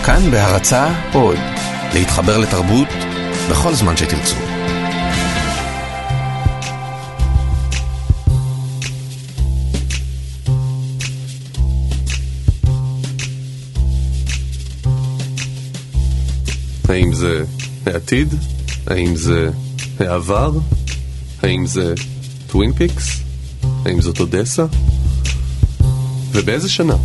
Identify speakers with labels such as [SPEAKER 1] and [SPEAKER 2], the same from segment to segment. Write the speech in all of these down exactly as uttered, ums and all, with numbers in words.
[SPEAKER 1] כאן בהרצאה עוד, להתחבר לתרבות בכל זמן שתרצו.
[SPEAKER 2] האם זה העתיד? האם זה העבר? האם זה טווין פיקס? האם זאת אודסה? ובאיזה שנה?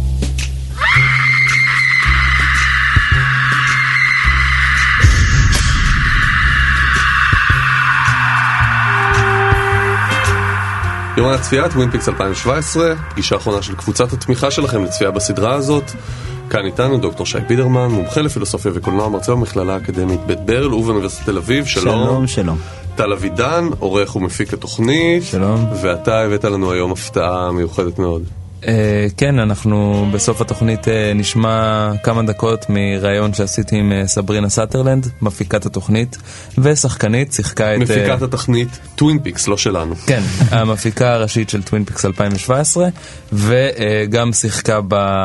[SPEAKER 2] יומן הצפייה, טווין פיקס אלפיים שבע עשרה, פגישה האחרונה של קבוצת התמיכה שלכם לצפייה בסדרה הזאת. כאן איתנו דוקטור שי בידרמן, מומחה לפילוסופיה וקולנוע, מרצה במכללה האקדמית בית ברל ובאוניברסיטת תל אביב. שלום.
[SPEAKER 3] שלום, שלום.
[SPEAKER 2] טל אבידן, עורך ומפיק התוכנית.
[SPEAKER 3] שלום.
[SPEAKER 2] ואתה הבאת לנו היום הפתעה מיוחדת מאוד.
[SPEAKER 4] כן, אנחנו בסוף התוכנית נשמע כמה דקות מראיון שעשיתי עם סברינה סאטרלנד, מפיקת התוכנית ושחקנית, שיחקה את...
[SPEAKER 2] מפיקת התוכנית טווין פיקס, לא שלנו.
[SPEAKER 4] כן, המפיקה הראשית של טווין פיקס אלפיים שבע עשרה, וגם שיחקה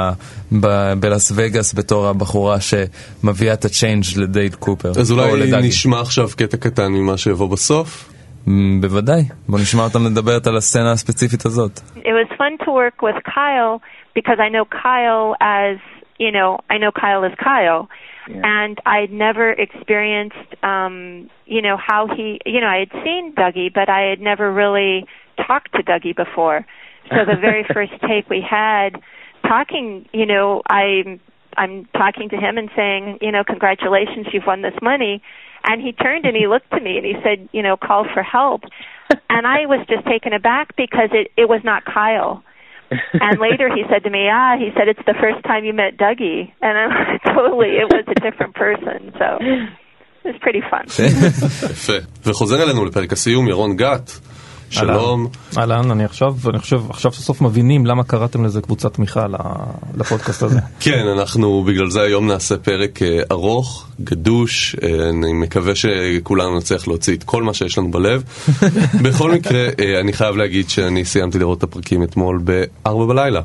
[SPEAKER 4] בלאס וגאס בתור הבחורה שמביאה את הצ'יינג' לדייל קופר.
[SPEAKER 2] אז אולי נשמע עכשיו קטע קטן ממה שיבוא בסוף?
[SPEAKER 4] בוודאי. בוא נשמע אותם לדברת על הסצנה הספציפית הזאת.
[SPEAKER 5] It was fun to work with Kyle because I know Kyle as, you know, I know Kyle as Kyle. Yeah. And I'd never experienced, um, you know, how he, you know, I had seen Dougie, but I had never really talked to Dougie before. So the very first take we had talking, you know, I, I'm talking to him and saying, you know, congratulations, you've won this money. And he turned and he looked to me and he said, you know, call for help. And I was just taken aback because it, it was not Kyle. And later he said to me, ah, he said, it's the first time you met Dougie. And I'm like, totally, it was a different person. So it was pretty fun.
[SPEAKER 2] יפה. וחוזר אלינו לפרק הסיום, ירון גת. שלום.
[SPEAKER 6] אהלן, אני עכשיו, אני חושב, עכשיו סוף מבינים למה קראתם לזה קבוצת תמיכה לפודקאסט הזה.
[SPEAKER 2] כן, אנחנו בגלל זה היום נעשה פרק ארוך, גדוש, אני מקווה שכולנו נצליח להוציא את כל מה שיש לנו בלב. בכל מקרה, אני חייב להגיד שאני סיימתי לראות את הפרקים אתמול בארבע בלילה,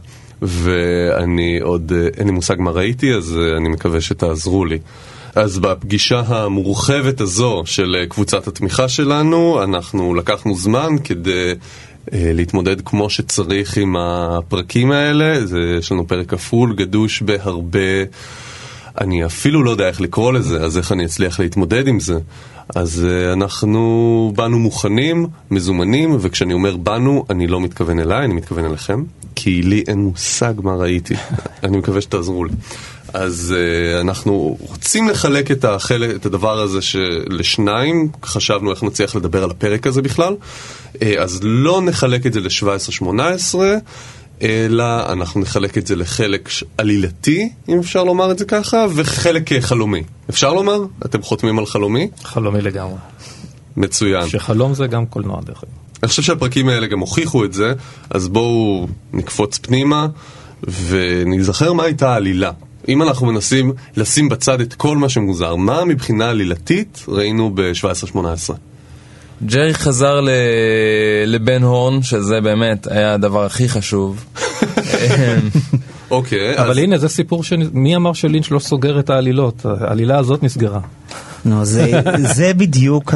[SPEAKER 2] ואני עוד, אין לי מושג מה ראיתי, אז אני מקווה שתעזרו לי. אז בפגישה המורחבת הזו של קבוצת התמיכה שלנו, אנחנו לקחנו זמן כדי אה, להתמודד כמו שצריך עם הפרקים האלה. זה, יש לנו פרק כפול, גדוש בהרבה, אני אפילו לא יודע איך לקרוא לזה, אז איך אני אצליח להתמודד עם זה. אז אה, אנחנו באנו מוכנים, מזומנים, וכשאני אומר באנו, אני לא מתכוון אליי, אני מתכוון אליכם, כי לי אין מושג מה ראיתי. אני מקווה שתעזרו לי. אז uh, אנחנו רוצים לחלק את, החלק, את הדבר הזה לשניים, חשבנו איך נצליח לדבר על הפרק הזה בכלל, uh, אז לא נחלק את זה ל-שבע עשרה שמונה עשרה, אלא אנחנו נחלק את זה לחלק עלילתי, אם אפשר לומר את זה ככה, וחלק חלומי. אפשר לומר? אתם חותמים על חלומי?
[SPEAKER 6] חלומי לגמרי.
[SPEAKER 2] מצוין.
[SPEAKER 6] שחלום זה גם קולנוע דרך אגב.
[SPEAKER 2] אני חושב שהפרקים האלה גם הוכיחו את זה, אז בואו נקפוץ פנימה ונזכר מה הייתה העלילה. אם אנחנו מנסים לשים בצד את כל מה שמוזר, מה מבחינה עלילתית ראינו ב-שבע עשרה שמונה עשרה?
[SPEAKER 4] ג'רי חזר ל... לבן הורן, שזה באמת היה הדבר הכי חשוב.
[SPEAKER 2] אוקיי.
[SPEAKER 6] אבל הנה, זה סיפור ש... מי אמר שלינץ' לא סוגר את העלילות? העלילה הזאת נסגרה.
[SPEAKER 3] נו, זה, זה בדיוק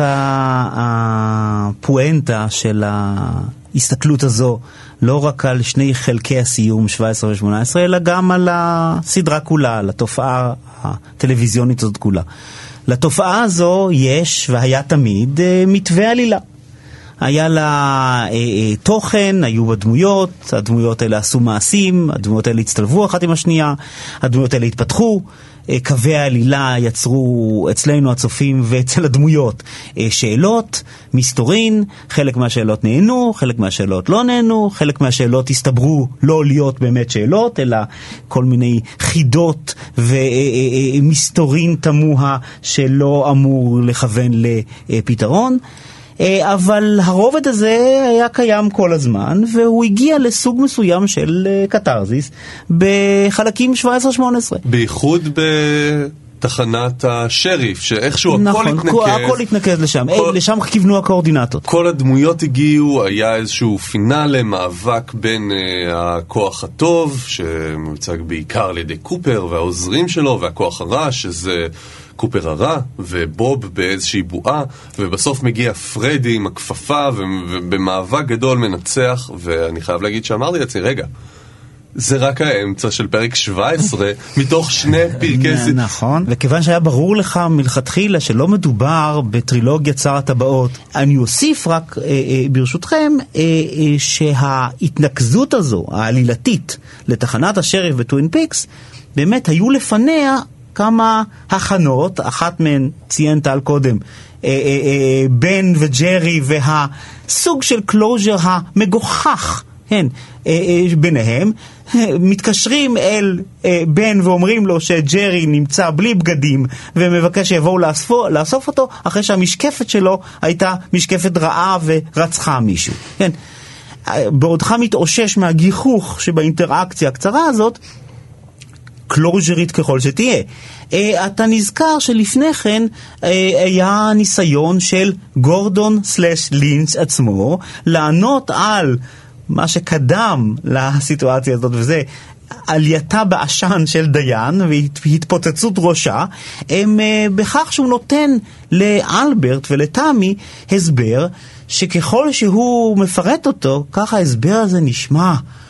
[SPEAKER 3] הפואנטה של ההסתכלות הזו, לא רק על שני חלקי הסיום שבע עשרה ו-שמונה עשרה, אלא גם על הסדרה כולה, על התופעה הטלוויזיונית הזאת כולה. לתופעה הזו יש, והיה תמיד, מתווה עלילה. היה לה אה, אה, תוכן, היו הדמויות, הדמויות האלה עשו מעשים, הדמויות האלה הצטלבו אחת עם השנייה, הדמויות האלה התפתחו, אה, קווי העלילה יצרו אצלנו הצופים ואצל הדמויות אה, שאלות, מסתורין, חלק מהשאלות נהנו, חלק מהשאלות לא נהנו, חלק מהשאלות הסתברו לא להיות באמת שאלות, אלא כל מיני חידות ומסתורין תמוה שלא אמור לכוון לפתרון. אבל הרובד הזה היה קיים כל הזמן, והוא הגיע לסוג מסוים של קטרזיס בחלקים שבע עשרה שמונה עשרה.
[SPEAKER 2] בייחוד תחנת השריף, שאיכשהו
[SPEAKER 3] נכון,
[SPEAKER 2] הכל התנקז.
[SPEAKER 3] הכל התנקז לשם, כל, לשם כיוונו הקואורדינטות.
[SPEAKER 2] כל הדמויות הגיעו, היה איזשהו פינאלה, מאבק בין uh, הכוח הטוב, שמיוצג בעיקר על ידי קופר והעוזרים שלו, והכוח הרע, שזה קופר הרע, ובוב באיזושהי בועה, ובסוף מגיע פרדי עם הכפפה, ובמאבק גדול מנצח, ואני חייב להגיד שאמרתי לעצמי, רגע, זה רק האמצע של פרק שבע עשרה מתוך שני פרקי...
[SPEAKER 3] נכון, וכיוון שהיה ברור לך מלכתחילה שלא מדובר בטרילוגיית שר הטבעות, אני אוסיף רק אה, אה, ברשותכם אה, אה, שההתנקזות הזו, העלילתית, לתחנת השריף בטווין פיקס, באמת היו לפניה כמה הכנות, אחת מהן ציינת על קודם, אה, אה, אה, בן וג'רי והסוג של קלוז'ר המגוחך, כן, ביניהם, מתקשרים אל בן ואומרים לו שג'רי נמצא בלי בגדים ומבקש שיבואו לאספו, לאסוף אותו אחרי שהמשקפת שלו הייתה משקפת רעה ורצחה מישהו. כן. בעודך מתאושש מהגיחוך שבאינטראקציה הקצרה הזאת, קלוז'רית ככל שתהיה. אתה נזכר שלפני כן היה ניסיון של גורדון סלש לינץ' עצמו לענות על מה שקדם לסיטואציה הזאת, וזה עלייתה בעשן של דיין והתפוצצות ראשה, הם בכך שהוא נותן לאלברט ולתמי הסבר שככל שהוא מפרט אותו, ככה ההסבר הזה נשמע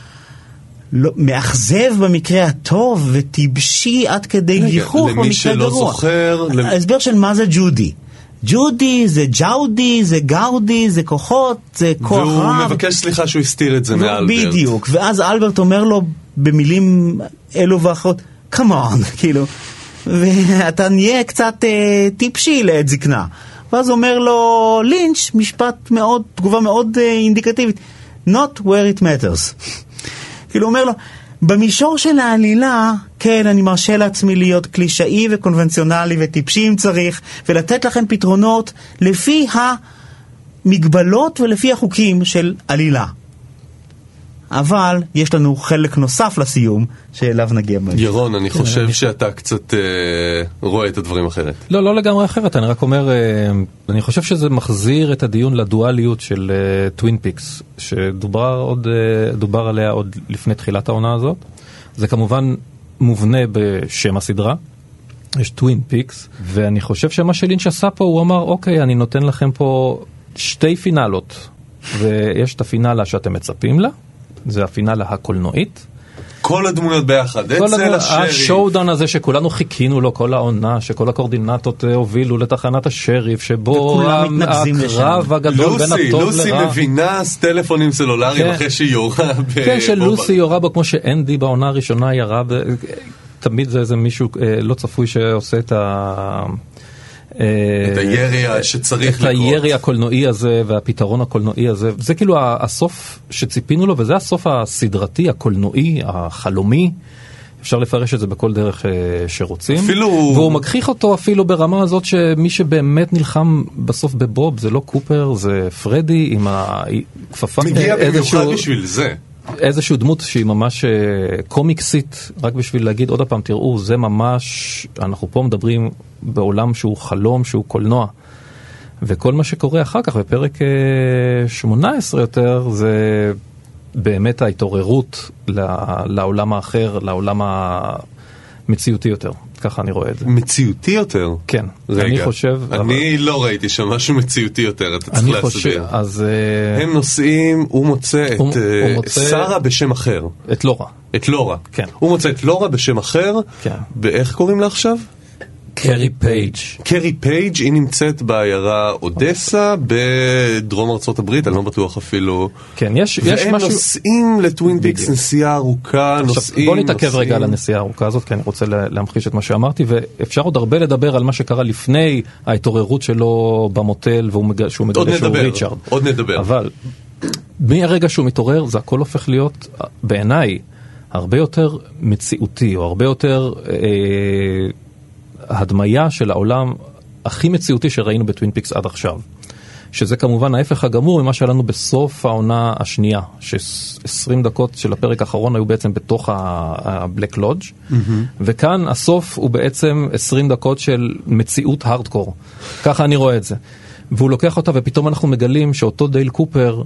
[SPEAKER 3] לא, מאכזב במקרה הטוב וטיבשי עד כדי גיחוך במקרה גרוע.
[SPEAKER 2] למי שלא זוכר...
[SPEAKER 3] ההסבר של מה זה ג'ודי. ג'ודי, זה ג'אודי, זה גאודי, זה כוחות, זה כוח רב.
[SPEAKER 2] והוא מבקש סליחה שהוא הסתיר את זה מאלברט.
[SPEAKER 3] בדיוק, ואז אלברט אומר לו במילים אלו ואחרות, come on, כאילו, ואתה נהיה קצת אה, טיפשי לעת זקנה. ואז אומר לו לינץ' משפט מאוד, תגובה מאוד אה, אינדיקטיבית, not where it matters. כאילו אומר לו, במישור של העלילה, כן, אני מרשה לעצמי להיות קלישאי וקונבנציונלי וטיפשי אם צריך, ולתת לכם פתרונות לפי המגבלות ולפי החוקים של עלילה. אבל יש לנו חלק נוסף לסיום שאליו נגיע.
[SPEAKER 2] ירון, אני חושב שאתה קצת רואה את הדברים אחרת.
[SPEAKER 6] לא, לא לגמרי אחרת, אני רק אומר, אני חושב שזה מחזיר את הדיון לדואליות של טווין פיקס, שדובר עוד, דובר עליה עוד לפני תחילת העונה הזאת. זה כמובן מובנה בשם הסדרה, יש טווין פיקס, ואני חושב שמה שלינץ' עשה פה, הוא אמר, אוקיי, אני נותן לכם פה שתי פינלות, ויש את הפינלה שאתם מצפים לה, זה הפינלה הקולנועית.
[SPEAKER 2] כל הדמויות ביחד, אצל השריף.
[SPEAKER 6] השואודאון הזה שכולנו חיכינו לו כל העונה, שכל הקורדינטות הובילו לתחנת השריף, שבו הקרב הגדול בין הטוב לרע.
[SPEAKER 2] לוסי מבינה טלפונים סלולריים אחרי שהיא יורה.
[SPEAKER 6] כן, שלוסי יורה בו כמו שאנדי בעונה הראשונה ירה. תמיד זה איזה מישהו לא צפוי שעושה את ה...
[SPEAKER 2] את הירי שצריך לקרות.
[SPEAKER 6] את הירי הקולנועי הזה והפתרון הקולנועי הזה. זה כאילו הסוף שציפינו לו, וזה הסוף הסדרתי, הקולנועי, החלומי. אפשר לפרש את זה בכל דרך שרוצים. אפילו... והוא מגחיך אותו אפילו ברמה הזאת שמי שבאמת נלחם בסוף בבוב, זה לא קופר, זה פרדי עם הכפפה.
[SPEAKER 2] מגיע במיוחד בשביל זה.
[SPEAKER 6] איזושהי דמות שהיא ממש קומיקסית, רק בשביל להגיד עוד הפעם, תראו, זה ממש, אנחנו פה מדברים בעולם שהוא חלום, שהוא קולנוע. וכל מה שקורה אחר כך בפרק שמונה עשרה יותר, זה באמת ההתעוררות לעולם האחר, לעולם המציאותי יותר. ככה אני רואה את זה.
[SPEAKER 2] מציאותי יותר?
[SPEAKER 6] כן.
[SPEAKER 2] רגע,
[SPEAKER 6] אני חושב...
[SPEAKER 2] אני אבל... לא ראיתי שם משהו מציאותי יותר, אתה צריך להסביר.
[SPEAKER 6] אז...
[SPEAKER 2] הם נוסעים, הוא מוצא את
[SPEAKER 6] הוא, uh, הוא מוצא...
[SPEAKER 2] שרה בשם אחר.
[SPEAKER 6] את לורה.
[SPEAKER 2] את לורה.
[SPEAKER 6] כן.
[SPEAKER 2] הוא מוצא את לורה בשם אחר.
[SPEAKER 6] כן.
[SPEAKER 2] באיך קוראים לה עכשיו?
[SPEAKER 6] קרי פייג'.
[SPEAKER 2] קרי פייג', היא נמצאת בעיירה אודסה בדרום ארצות הברית, אני לא בטוח אפילו.
[SPEAKER 6] כן, יש, יש
[SPEAKER 2] והם
[SPEAKER 6] משהו...
[SPEAKER 2] נוסעים לטווין פיקס, נסיעה ארוכה, נוסעים...
[SPEAKER 6] בוא נתעכב רגע על הנסיעה הארוכה הזאת, כי אני רוצה להמחיש את מה שאמרתי, ואפשר עוד הרבה לדבר על מה שקרה לפני ההתעוררות שלו במוטל, שהוא מגלה שהוא ריצ'ארד.
[SPEAKER 2] עוד נדבר.
[SPEAKER 6] אבל מהרגע שהוא מתעורר, זה הכל הופך להיות, בעיניי, הרבה יותר מציאותי, או הרבה יותר... הדמיה של העולם הכי מציאותי שראינו בטווין פיקס עד עכשיו. שזה כמובן ההפך הגמור ממה שהיה לנו בסוף העונה השנייה, ש-עשרים דקות של הפרק האחרון היו בעצם בתוך ה-Black Lodge, mm-hmm. וכאן הסוף הוא בעצם עשרים דקות של מציאות הארדקור. ככה אני רואה את זה. והוא לוקח אותה, ופתאום אנחנו מגלים שאותו דייל קופר,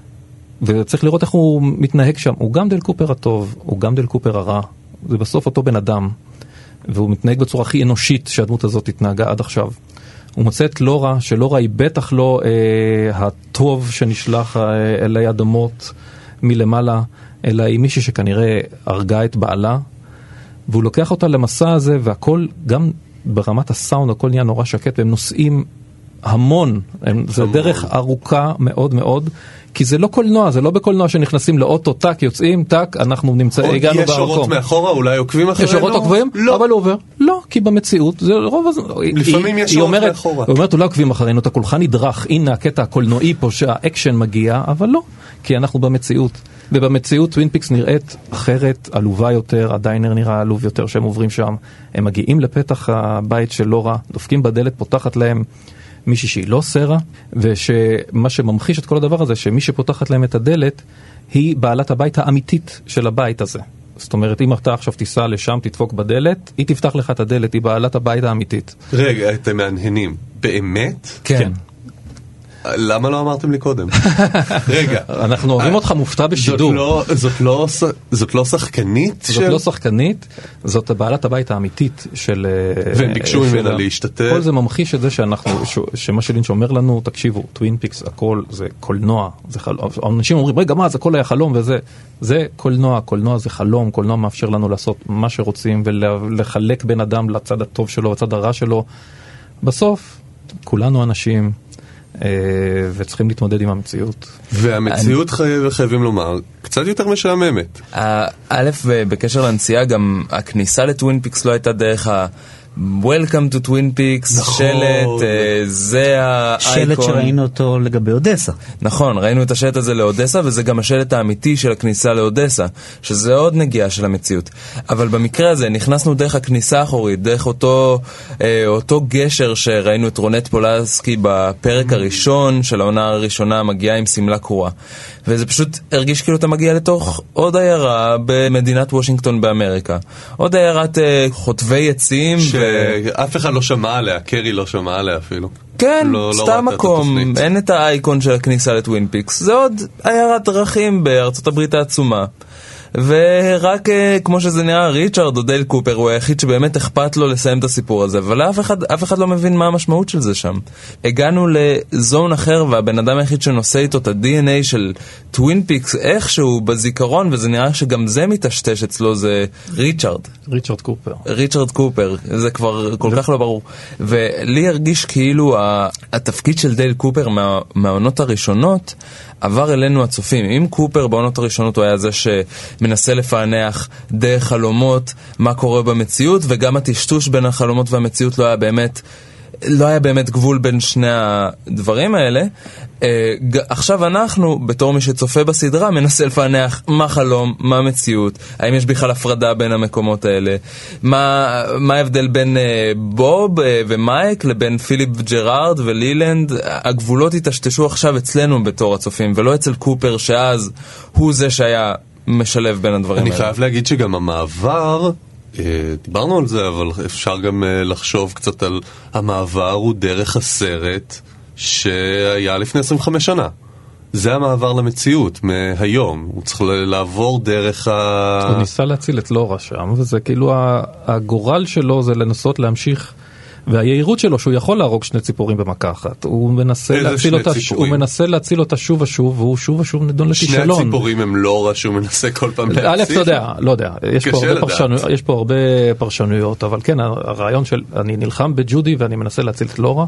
[SPEAKER 6] וצריך לראות איך הוא מתנהג שם, הוא גם דייל קופר הטוב, הוא גם דייל קופר הרע, זה בסוף אותו בן אדם, והוא מתנהג בצורה הכי אנושית שהדמות הזאת התנהגה עד עכשיו. הוא מוצא את לורה, שלורה היא בטח לא אה, הטוב שנשלח אה, אלי אדמות מלמעלה, אלא היא מישהי שכנראה הרגה את בעלה, והוא לוקח אותה למסע הזה, והכל, גם ברמת הסאונד, הכל נהיה נורא שקט, והם נוסעים המון, הם, זה דרך ארוכה מאוד מאוד, כי זה לא קולנוע, זה לא בקולנוע שנכנסים לאוטו, טק, יוצאים, טק, אנחנו נמצא, הגענו
[SPEAKER 2] במקום. יש שורות מאחורה, אולי עוקבים אחרינו?
[SPEAKER 6] יש שורות עוקבים?
[SPEAKER 2] לא.
[SPEAKER 6] אבל הוא עובר. לא, כי במציאות, זה רוב הזמן.
[SPEAKER 2] לפעמים יש שורות מאחורה.
[SPEAKER 6] היא אומרת, אולי עוקבים אחרינו, אתה כולך נדרך, הנה הקטע הקולנועי פה שהאקשן מגיע, אבל לא, כי אנחנו במציאות. ובמציאות טווין פיקס נראית אחרת, עלובה יותר, הדיינר נראה עלוב יותר שהם עוברים שם. הם מגיעים לפתח הבית של לורה, דופקים בדלת, פותחת להם מישהי שהיא לא סרה, ושמה שממחיש את כל הדבר הזה, שמי שפותחת להם את הדלת, היא בעלת הבית האמיתית של הבית הזה. זאת אומרת, אם אתה עכשיו תיסע לשם, תדפוק בדלת, היא תפתח לך את הדלת, היא בעלת הבית האמיתית.
[SPEAKER 2] רגע, אתם מהנהנים. באמת?
[SPEAKER 6] כן.
[SPEAKER 2] למה לא אמרתם לי קודם? רגע.
[SPEAKER 6] אנחנו אוהבים אותך מופתע בשידור.
[SPEAKER 2] זאת לא, זאת לא שחקנית?
[SPEAKER 6] זאת לא שחקנית, זאת בעלת הבית האמיתית של...
[SPEAKER 2] והם ביקשו ממנה להשתתף.
[SPEAKER 6] כל זה ממחיש את זה שאנחנו, שמה שלינץ' אומר לנו, תקשיבו, טווין פיקס, הכל זה קולנוע. אנשים אומרים, רגע, מה, זה הכל היה חלום וזה. זה קולנוע, קולנוע זה חלום, קולנוע מאפשר לנו לעשות מה שרוצים ולחלק בין אדם לצד הטוב שלו, לצד הרע שלו. בסוף, כולנו אנשים... וצריכים להתמודד עם המציאות.
[SPEAKER 2] והמציאות חייבים לומר, קצת יותר משעממת.
[SPEAKER 4] א', בקשר לנסיעה, גם הכניסה לטווין פיקס לא הייתה דרך ה... Welcome to Twin Peaks, שלט, זה האייקון.
[SPEAKER 3] שלט שראינו אותו לגבי אודסה.
[SPEAKER 4] נכון, ראינו את השלט הזה לאודסה, וזה גם השלט האמיתי של הכניסה לאודסה, שזה עוד נגיעה של המציאות. אבל במקרה הזה נכנסנו דרך הכניסה האחורית, דרך אותו, אותו גשר שראינו את רונט פולסקי בפרק הראשון של העונה הראשונה, מגיעה עם סמלה קרועה. וזה פשוט הרגיש כאילו אתה מגיע לתוך עוד עיירה במדינת וושינגטון באמריקה. עוד עיירת חוטבי עצים.
[SPEAKER 2] אף אחד לא שמע עליה, קרי לא שמע עליה אפילו.
[SPEAKER 4] כן, לא, סתם לא מקום, אין את האייקון של הכניסה לטווין פיקס, זה עוד עיירת דרכים בארצות הברית העצומה. ורק כמו שזה נראה, ריצ'רד או דייל קופר הוא היחיד שבאמת אכפת לו לסיים את הסיפור הזה, אבל אף אחד, אף אחד לא מבין מה המשמעות של זה שם. הגענו לזון אחר, והבן אדם היחיד שנושא איתו את ה-די אן איי של טווין פיקס איכשהו בזיכרון, וזה נראה שגם זה מתשתש אצלו, זה ריצ'רד.
[SPEAKER 6] ריצ'רד קופר.
[SPEAKER 4] ריצ'רד קופר, זה כבר כל כך לא ברור. ולי הרגיש כאילו התפקיד של דייל קופר מה, מהעונות הראשונות, עבר אלינו הצופים. אם קופר בעונות הראשונות הוא היה זה שמנסה לפענח דרך חלומות מה קורה במציאות, וגם הטשטוש בין החלומות והמציאות לא היה באמת, לא היה באמת גבול בין שני הדברים האלה. עכשיו אנחנו, בתור מי שצופה בסדרה, מנסה לפענח מה חלום, מה מציאות, האם יש בכלל הפרדה בין המקומות האלה, מה, מה ההבדל בין בוב ומייק לבין פיליפ ג'רארד ולילנד. הגבולות התשתשו עכשיו אצלנו בתור הצופים, ולא אצל קופר שאז הוא זה שהיה משלב בין הדברים האלה.
[SPEAKER 2] אני חייב להגיד שגם המעבר, דיברנו על זה, אבל אפשר גם לחשוב קצת על המעבר הוא דרך הסרט שהיה לפני עשרים וחמש שנה. זה המעבר למציאות מהיום. הוא צריך לעבור דרך ה...
[SPEAKER 6] הוא ניסה להציל את לורה שם, וזה כאילו הגורל שלו זה לנסות להמשיך, והיעירות שלו שהוא יכול להרוג שני ציפורים במכה אחת. הוא מנסה להציל אותה, הוא מנסה להציל אותה שוב ושוב, והוא שוב ושוב נדון לכישלון.
[SPEAKER 2] שני הציפורים הם לורה שהוא מנסה כל פעם להציל.
[SPEAKER 6] א', אתה יודע, לא יודע. יש פה הרבה פרשנויות, יש פה הרבה פרשנויות, אבל כן, הרעיון של אני נלחם בג'ודי ואני מנסה להציל את לורה.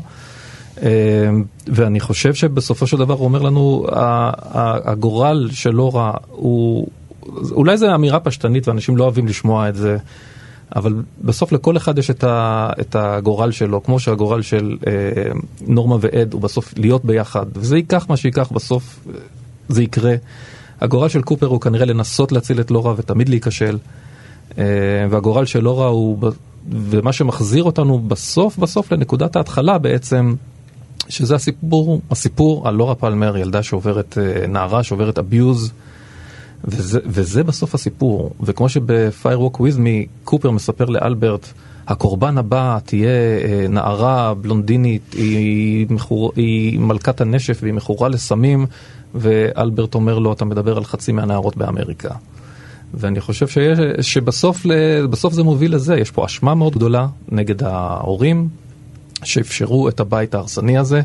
[SPEAKER 6] ואני חושב שבסופו של דבר הוא אומר לנו, הגורל של לורה הוא, אולי זו אמירה פשטנית ואנשים לא אוהבים לשמוע את זה, אבל בסוף לכל אחד יש את, ה, את הגורל שלו, כמו שהגורל של אה, נורמה ועד הוא בסוף להיות ביחד, וזה ייקח מה שיקח, בסוף זה יקרה. הגורל של קופר הוא כנראה לנסות להציל את לורה ותמיד להיכשל, אה, והגורל של לורה הוא, ומה שמחזיר אותנו בסוף, בסוף לנקודת ההתחלה בעצם, שזה הסיפור, הסיפור על לורה פלמר, ילדה שעוברת, נערה שעוברת אביוז, וזה, וזה בסוף הסיפור. וכמו שב-Fire Walk With Me, קופר מספר לאלברט, הקורבן הבא תהיה נערה בלונדינית, היא, מחור, היא מלכת הנשף והיא מכורה לסמים, ואלברט אומר לו, אתה מדבר על חצי מהנערות באמריקה. ואני חושב שיש, שבסוף בסוף זה מוביל לזה, יש פה אשמה מאוד גדולה נגד ההורים, שאפשרו את הבית ההרסני הזה.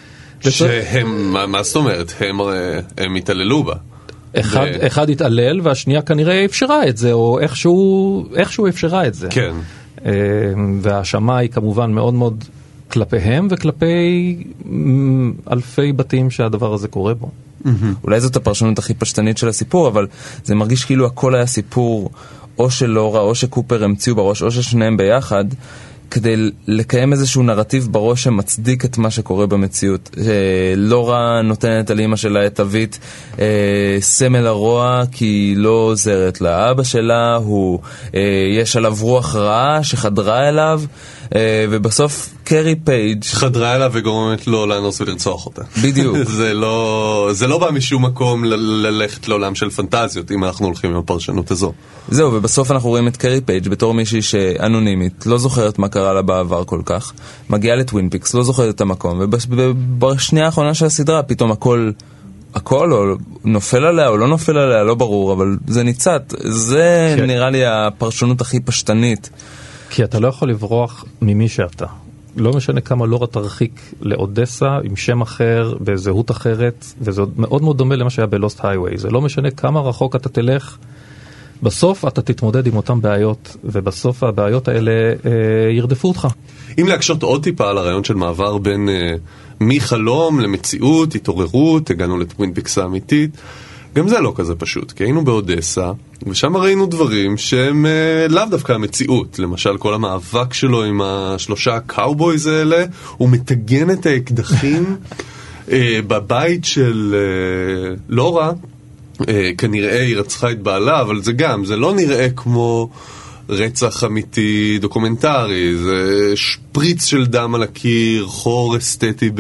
[SPEAKER 2] שהם, מה, מה זאת אומרת? הם, הם התעללו בה.
[SPEAKER 6] אחד, ו... אחד התעלל והשנייה כנראה אפשרה את זה, או איכשהו, איכשהו אפשרה את זה.
[SPEAKER 2] כן.
[SPEAKER 6] וההאשמה היא כמובן מאוד מאוד כלפיהם וכלפי אלפי בתים שהדבר הזה קורה בו.
[SPEAKER 4] אולי זאת הפרשנות הכי פשטנית של הסיפור, אבל זה מרגיש כאילו הכל היה סיפור או של לורה או שקופר המציאו בראש או ששניהם ביחד, כדי לקיים איזשהו נרטיב בראש שמצדיק את מה שקורה במציאות. לורה נותנת על אמא שלה את אבית סמל הרוע כי היא לא עוזרת לה. אבא שלה הוא, יש עליו רוח רעה שחדרה אליו, ובסוף קרי פייג'
[SPEAKER 2] חדרה אליו וגורמת לו לאנוס ולרצוח אותה.
[SPEAKER 4] בדיוק.
[SPEAKER 2] זה לא, זה לא בא משום מקום ל- ללכת לעולם של פנטזיות, אם אנחנו הולכים עם הפרשנות הזו.
[SPEAKER 4] זהו, ובסוף אנחנו רואים את קרי פייג' בתור מישהי שאנונימית, לא זוכרת מה קרה לה בעבר כל כך, מגיעה לטווין פיקס, לא זוכרת את המקום, ובשנייה האחרונה של הסדרה פתאום הכל... הכל או נופל עליה או לא נופל עליה, לא ברור, אבל זה ניצת. זה כן. נראה לי הפרשנות הכי פשטנית.
[SPEAKER 6] כי אתה לא יכול לברוח ממי שאתה. לא משנה כמה לורה תרחיק לאודסה עם שם אחר, בזהות אחרת, וזה מאוד מאוד דומה למה שהיה בלוסט הייווי. זה לא משנה כמה רחוק אתה תלך, בסוף אתה תתמודד עם אותם בעיות, ובסוף הבעיות האלה אה, ירדפו אותך.
[SPEAKER 2] אם להקשות עוד טיפה על הרעיון של מעבר בין אה, מחלום למציאות, התעוררות, הגענו לטווין פיקס האמיתית, גם זה לא כזה פשוט, כי היינו באודסה, ושם ראינו דברים שהם אה, לאו דווקא המציאות. למשל, כל המאבק שלו עם השלושה הקאובויז האלה, הוא מתגן את האקדחים אה, בבית של אה, לורה, אה, כנראה היא רצחה את בעלה, אבל זה גם, זה לא נראה כמו רצח אמיתי דוקומנטרי, זה שפריץ של דם על הקיר, חור אסתטי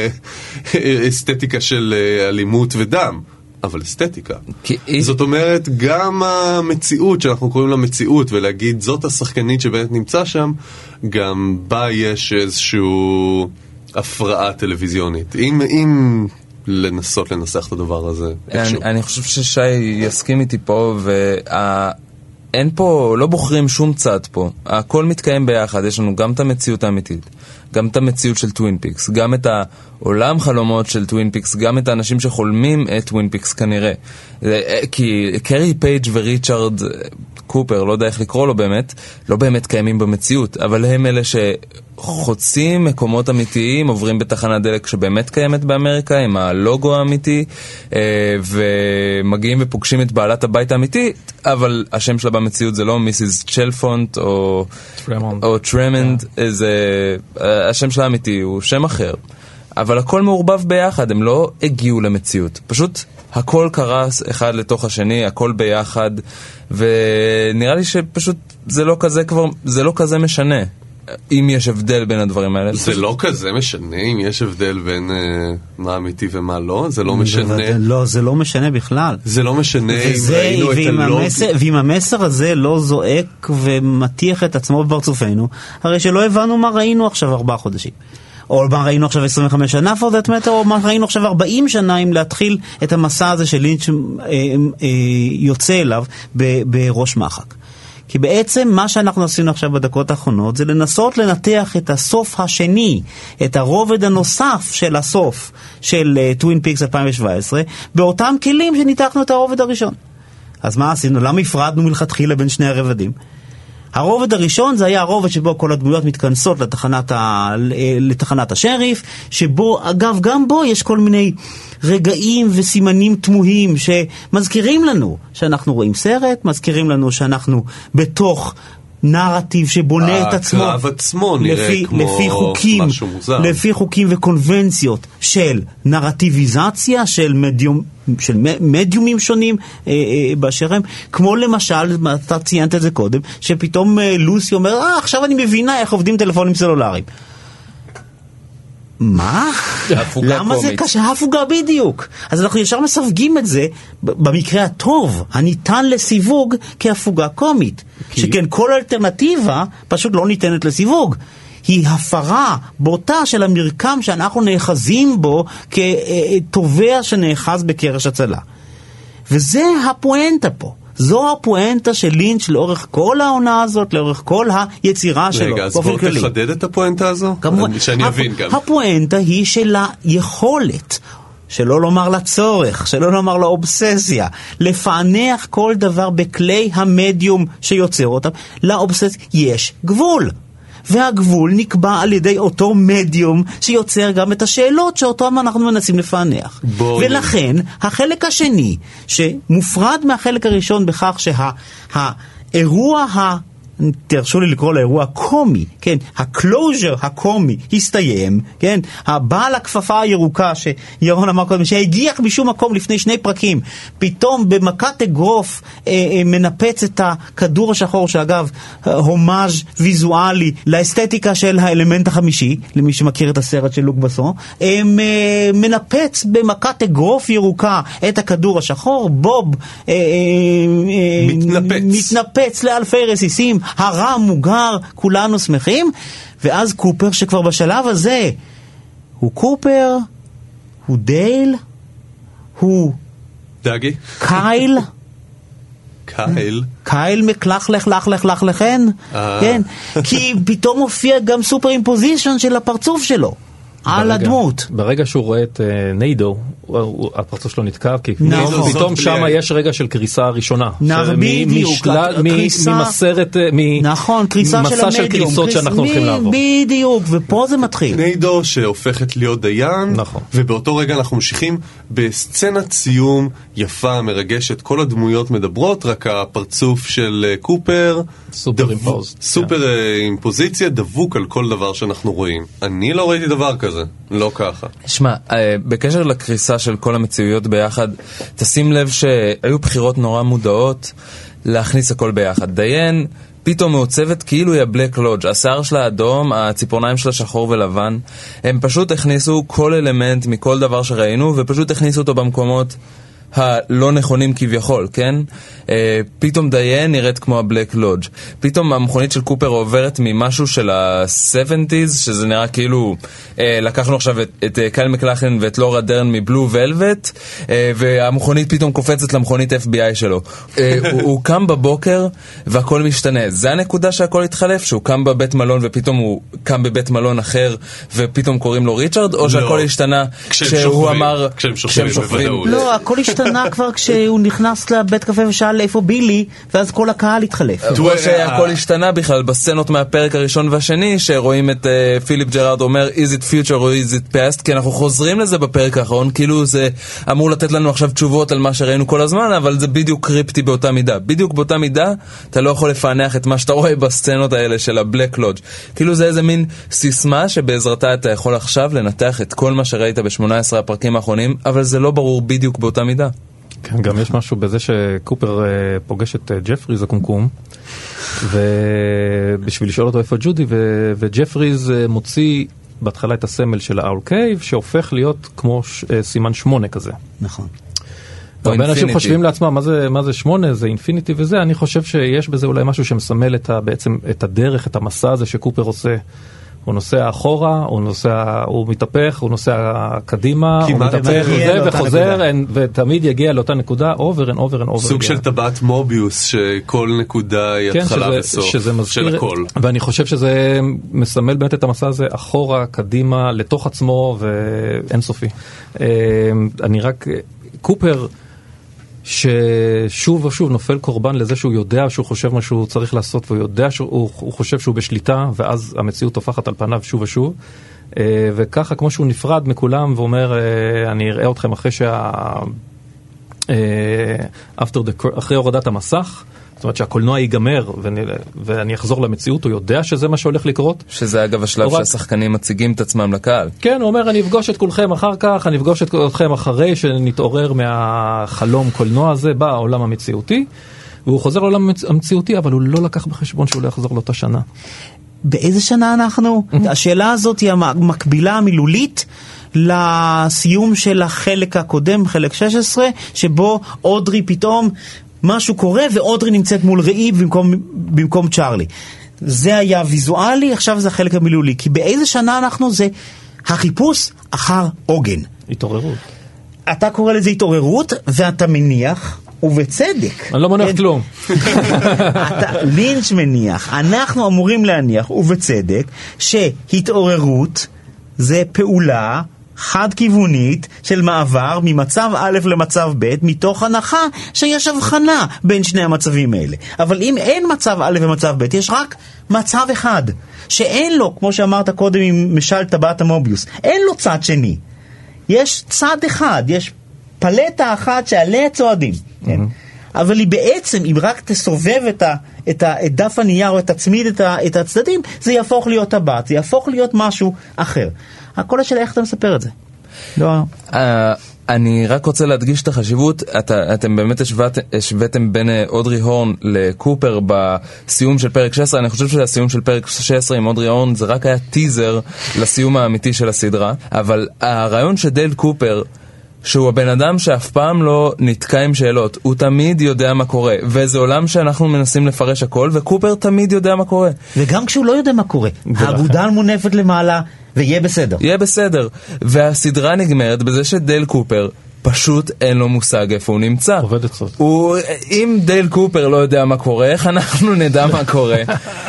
[SPEAKER 2] באסתטיקה של אה, אלימות ודם. אבל אסתטיקה. זאת אומרת, גם המציאות שאנחנו קוראים לה מציאות, ולהגיד זאת השחקנית שבאמת נמצא שם, גם בה יש איזשהו הפרעה טלוויזיונית. אם, אם לנסות לנסח את הדבר הזה.
[SPEAKER 4] אני, אני חושב ששי יסכים איתי פה, ואין פה, לא בוחרים שום צד פה. הכל מתקיים ביחד. יש לנו גם את המציאות האמיתית, גם את המציאות של טווין פיקס, גם את העולם חלומות של טווין פיקס, גם את האנשים שחולמים את טווין פיקס כנראה. כי קרי פייג' וריצ'רד קופר, לא יודע איך לקרוא לו באמת, לא באמת קיימים במציאות, אבל הם אלה שחוצים מקומות אמיתיים, עוברים בתחנת דלק שבאמת קיימת באמריקה, עם הלוגו האמיתי, ומגיעים ופוגשים את בעלת הבית האמיתי, אבל השם שלה במציאות זה לא מיסיס צ'לפונט או טרמונד, או טרמונד, זה... השם שלה האמיתי הוא שם אחר. אבל הכל מעורבב ביחד, הם לא הגיעו למציאות. פשוט הכל קרס אחד לתוך השני, הכל ביחד, ונראה לי שפשוט זה לא כזה כבר, זה לא כזה משנה. אם יש הבדל בין הדברים האלה.
[SPEAKER 2] זה לא כזה משנה אם יש הבדל בין מה אמיתי ומה לא, זה לא משנה.
[SPEAKER 3] לא, זה לא משנה בכלל.
[SPEAKER 2] זה לא משנה אם ראינו את הלוגי.
[SPEAKER 3] ואם המסר הזה לא זועק ומתיח את עצמו בפרצופנו, הרי שלא הבנו מה ראינו עכשיו ארבעה חודשים. או מה ראינו עכשיו עשרים וחמש שנה, for that matter, או מה ראינו עכשיו ארבעים שנה, אם להתחיל את המסע הזה של לינץ' יוצא אליו בראש מחק. כי בעצם מה שאנחנו עשינו עכשיו בדקות האחרונות זה לנסות לנתח את הסוף השני, את הרובד הנוסף של הסוף של טווין פיקס אלפיים שבע עשרה, באותם כלים שניתחנו את הרובד הראשון. אז מה עשינו? למה הפרדנו מלכתחילה בין שני הרבדים? הרובד הראשון זה היה הרובד שבו כל הדמויות מתכנסות לתחנת, ה... לתחנת השריף, שבו, אגב, גם בו יש כל מיני רגעים וסימנים תמוהים שמזכירים לנו שאנחנו רואים סרט, מזכירים לנו שאנחנו בתוך נרטיב שבונה את עצמו,
[SPEAKER 2] הקרב עצמו נראה
[SPEAKER 3] לפי,
[SPEAKER 2] כמו
[SPEAKER 3] לפי חוקים,
[SPEAKER 2] משהו מוזר. לפי
[SPEAKER 3] חוקים וקונבנציות של נרטיביזציה, של מדיום, של מדיומים שונים אה, אה, באשר הם, כמו למשל, אתה ציינת את זה קודם, שפתאום אה, לוסי אומר, אה, עכשיו אני מבינה איך עובדים טלפונים סלולריים. מה?
[SPEAKER 4] הפוגה
[SPEAKER 3] למה זה
[SPEAKER 4] קומית.
[SPEAKER 3] קשה? הפוגה בדיוק. אז אנחנו ישר מסווגים את זה, במקרה הטוב, הניתן לסיווג כהפוגה קומית. שכן כל אלטרנטיבה פשוט לא ניתנת לסיווג. היא הפרה בוטה של המרקם שאנחנו נאחזים בו כתובע שנאחז בקרש הצלה. וזה הפואנטה פה. זו הפואנטה של לינץ' לאורך כל העונה הזאת, לאורך כל היצירה שלו.
[SPEAKER 2] רגע, אז בואו תחדד את הפואנטה הזו?
[SPEAKER 3] כמובן,
[SPEAKER 2] שאני אבין גם.
[SPEAKER 3] הפואנטה היא של היכולת, שלא לומר לצורך, שלא לומר לאובססיה, לפענח כל דבר בכלי המדיום שיוצר אותם. לאובססיה יש גבול. והגבול נקבע על ידי אותו מדיום שיוצר גם את השאלות שאותו אנחנו מנסים לפענח. בואי. ולכן, החלק השני, שמופרד מהחלק הראשון בכך שהאירוע ה... תרשו לי לקרוא לאירוע קומי, כן, הקלוז'ר הקומי הסתיים, כן, הבעל הכפפה הירוקה שירון אמר קודם, שהגיח משום מקום לפני שני פרקים, פתאום במכת אגרוף אה, אה, מנפץ את הכדור השחור, שאגב, הומאז' ויזואלי לאסתטיקה של האלמנט החמישי, למי שמכיר את הסרט של לוק בסון, אה, מנפץ במכת אגרוף ירוקה את הכדור השחור, בוב אה, אה,
[SPEAKER 2] מתנפץ.
[SPEAKER 3] מתנפץ לאלפי רסיסים, הרע מוגר, כולנו שמחים, ואז קופר שכבר בשלב הזה הוא קופר, הוא דייל, הוא
[SPEAKER 2] דאגי?
[SPEAKER 3] קייל,
[SPEAKER 2] קייל?
[SPEAKER 3] קייל מקלח לך לך לך לך לכן, כן, כי פתאום הופיע גם סופר אימפוזישן של הפרצוף שלו על הדמות.
[SPEAKER 6] ברגע שהוא רואה את ניידו, הפרצוף שלו נתקע, כי פתאום שם יש רגע של קריסה ראשונה.
[SPEAKER 3] בדיוק.
[SPEAKER 6] ממסרת, ממסע של קריסות שאנחנו הולכים לעבור.
[SPEAKER 3] בדיוק, ופה זה מתחיל.
[SPEAKER 2] ניידו שהופכת להיות דיין, ובאותו רגע אנחנו ממשיכים בסצנת סיום יפה, מרגשת, כל הדמויות מדברות, רק הפרצוף של קופר,
[SPEAKER 6] סופר אימפוז.
[SPEAKER 2] סופר אימפוזיציה, דבוק על כל דבר שאנחנו רואים. אני לא ראיתי דבר כזה, לא ככה.
[SPEAKER 4] שמע, בקשר לקריסה של כל המציאויות ביחד, תשים לב שהיו בחירות נורא מודעות להכניס הכל ביחד. דיין פתאום מעוצבת כאילו היא הבלק לודג', השיער שלה אדום, הציפורניים שלה שחור ולבן. הם פשוט הכניסו כל אלמנט מכל דבר שראינו, ופשוט הכניסו אותו במקומות הלא נכונים כביכול, כן? אה, פתאום דיין נראית כמו הבלק לודג'. פתאום המכונית של קופר עוברת ממשהו של ה-שבעים, שזה נראה כאילו אה, לקחנו עכשיו את, את אה, קייל מקלחן ואת לורה דרן מבלו ולווט, אה, והמכונית פתאום קופצת למכונית אף בי איי שלו. אה, הוא, הוא קם בבוקר והכל משתנה. זה הנקודה שהכל התחלף, שהוא קם בבית מלון ופתאום הוא קם בבית מלון אחר ופתאום קוראים לו ריצ'רד, או שהכל לא. השתנה כשהוא אמר
[SPEAKER 2] כשהם שוכבים.
[SPEAKER 3] לא, הכל השתנה כבר כשהוא נכנס לבית קפה ושאל איפה בילי, ואז כל הקהל התחלף.
[SPEAKER 4] כמו שהכל השתנה בכלל בסצנות מהפרק הראשון והשני, שרואים את פיליפ ג'רארד אומר is it future or is it past, כי אנחנו חוזרים לזה בפרק האחרון, כאילו זה אמור לתת לנו עכשיו תשובות על מה שראינו כל הזמן, אבל זה בדיוק קריפטי באותה מידה. בדיוק באותה מידה אתה לא יכול לפענח את מה שאתה רואה בסצנות האלה של הבלק לודג'. כאילו זה איזה מין סיסמה שבעזרתה אתה יכול עכשיו לנתח את כל מה שראית ב-שמונה עשרה הפרקים האחרונים, אבל זה לא ברור בדיוק באותה מידה.
[SPEAKER 6] כן, גם יש משהו בזה שקופר פוגש את ג'פריז הקומקום, ובשביל לשאול אותו איפה ג'ודי, וג'פריז מוציא בהתחלה את הסמל של האול קייב, שהופך להיות כמו סימן שמונה כזה.
[SPEAKER 3] נכון.
[SPEAKER 6] הרבה אנשים חושבים לעצמם, מה זה, מה זה שמונה, זה אינפיניטי וזה, אני חושב שיש בזה אולי משהו שמסמל את ה, בעצם את הדרך, את המסע הזה שקופר עושה. הוא נוסע אחורה, הוא נוסע, הוא מתהפך, הוא נוסע קדימה, הוא מתהפך וזה, וחוזר, ותמיד יגיע לאותה נקודה, over and over and over.
[SPEAKER 2] סוג של טבעת מוביוס, שכל נקודה היא התחלה וסוף של הכל.
[SPEAKER 6] ואני חושב שזה מסמל באמת את המסע הזה, אחורה, קדימה, לתוך עצמו, ואין סופי. אני רק, קופר, ששוב ושוב נופל קורבן לזה שהוא יודע שהוא חושב מה שהוא צריך לעשות, והוא יודע שהוא הוא חושב שהוא בשליטה, ואז המציאות הופכת על פניו שוב ושוב, וככה כמו שהוא נפרד מכולם ואומר אני אראה אתכם אחרי שה after the, אחרי הורדת המסך, זאת אומרת שהקולנוע ייגמר ואני, ואני אחזור למציאות, הוא יודע שזה מה שהולך לקרות.
[SPEAKER 4] שזה אגב השלב רק... שהשחקנים מציגים את עצמם לקהל.
[SPEAKER 6] כן, הוא אומר, אני אפגוש את כולכם אחר כך, אני אפגוש את כולכם אחרי שנתעורר מהחלום קולנוע הזה, בא העולם המציאותי, והוא חוזר לעולם המציאותי, אבל הוא לא לקח בחשבון שהוא לא יחזור לאותה שנה.
[SPEAKER 3] באיזה שנה אנחנו? השאלה הזאת היא המקבילה המילולית לסיום של החלק הקודם, חלק שש עשרה, שבו אודרי פתאום משהו קורה ואודרי נמצאת מול ראי במקום, במקום צ'ארלי. זה היה ויזואלי, עכשיו זה החלק המילולי. כי באיזה שנה אנחנו? זה החיפוש אחר עוגן.
[SPEAKER 6] התעוררות.
[SPEAKER 3] אתה קורא לזה התעוררות, ואתה מניח, ובצדק.
[SPEAKER 6] אני לא מניח כלום.
[SPEAKER 3] אתה, לינץ' מניח, אנחנו אמורים להניח, ובצדק, שהתעוררות זה פעולה חד-כיוונית של מעבר ממצב א' למצב ב', מתוך הנחה שיש הבחנה בין שני המצבים האלה. אבל אם אין מצב א' ומצב ב', יש רק מצב אחד, שאין לו, כמו שאמרת קודם עם משל טבעת המוביוס, אין לו צד שני. יש צד אחד, יש פלטה אחת שעליה צועדים. כן? אבל היא בעצם, אם רק תסובב את, ה, את, ה, את דף הנייר או את הצמיד את, ה, את הצדדים, זה יהפוך להיות טבעת, זה יהפוך להיות משהו אחר. הכל השאלה איך אתה מספר את זה. לא...
[SPEAKER 4] Uh, אני רק רוצה להדגיש את החשיבות, אתה, אתם באמת השוואת, השוויתם בין אודרי הורן לקופר בסיום של פרק שש עשרה, אני חושב שהסיום של פרק שש עשרה עם אודרי הורן זה רק היה טיזר לסיום האמיתי של הסדרה, אבל הרעיון שדייל קופר, שהוא הבן אדם שאף פעם לא נתקע עם שאלות, הוא תמיד יודע מה קורה, וזה עולם שאנחנו מנסים לפרש הכל, וקופר תמיד יודע מה קורה.
[SPEAKER 3] וגם כשהוא לא יודע מה קורה, האגודה מונפת למעלה, ויהיה בסדר.
[SPEAKER 4] יהיה בסדר. והסדרה נגמרת בזה שדייל קופר פשוט אין לו מושג איפה הוא נמצא.
[SPEAKER 6] עובד את זאת.
[SPEAKER 4] הוא, אם דייל קופר לא יודע מה קורה, איך אנחנו נדע מה קורה?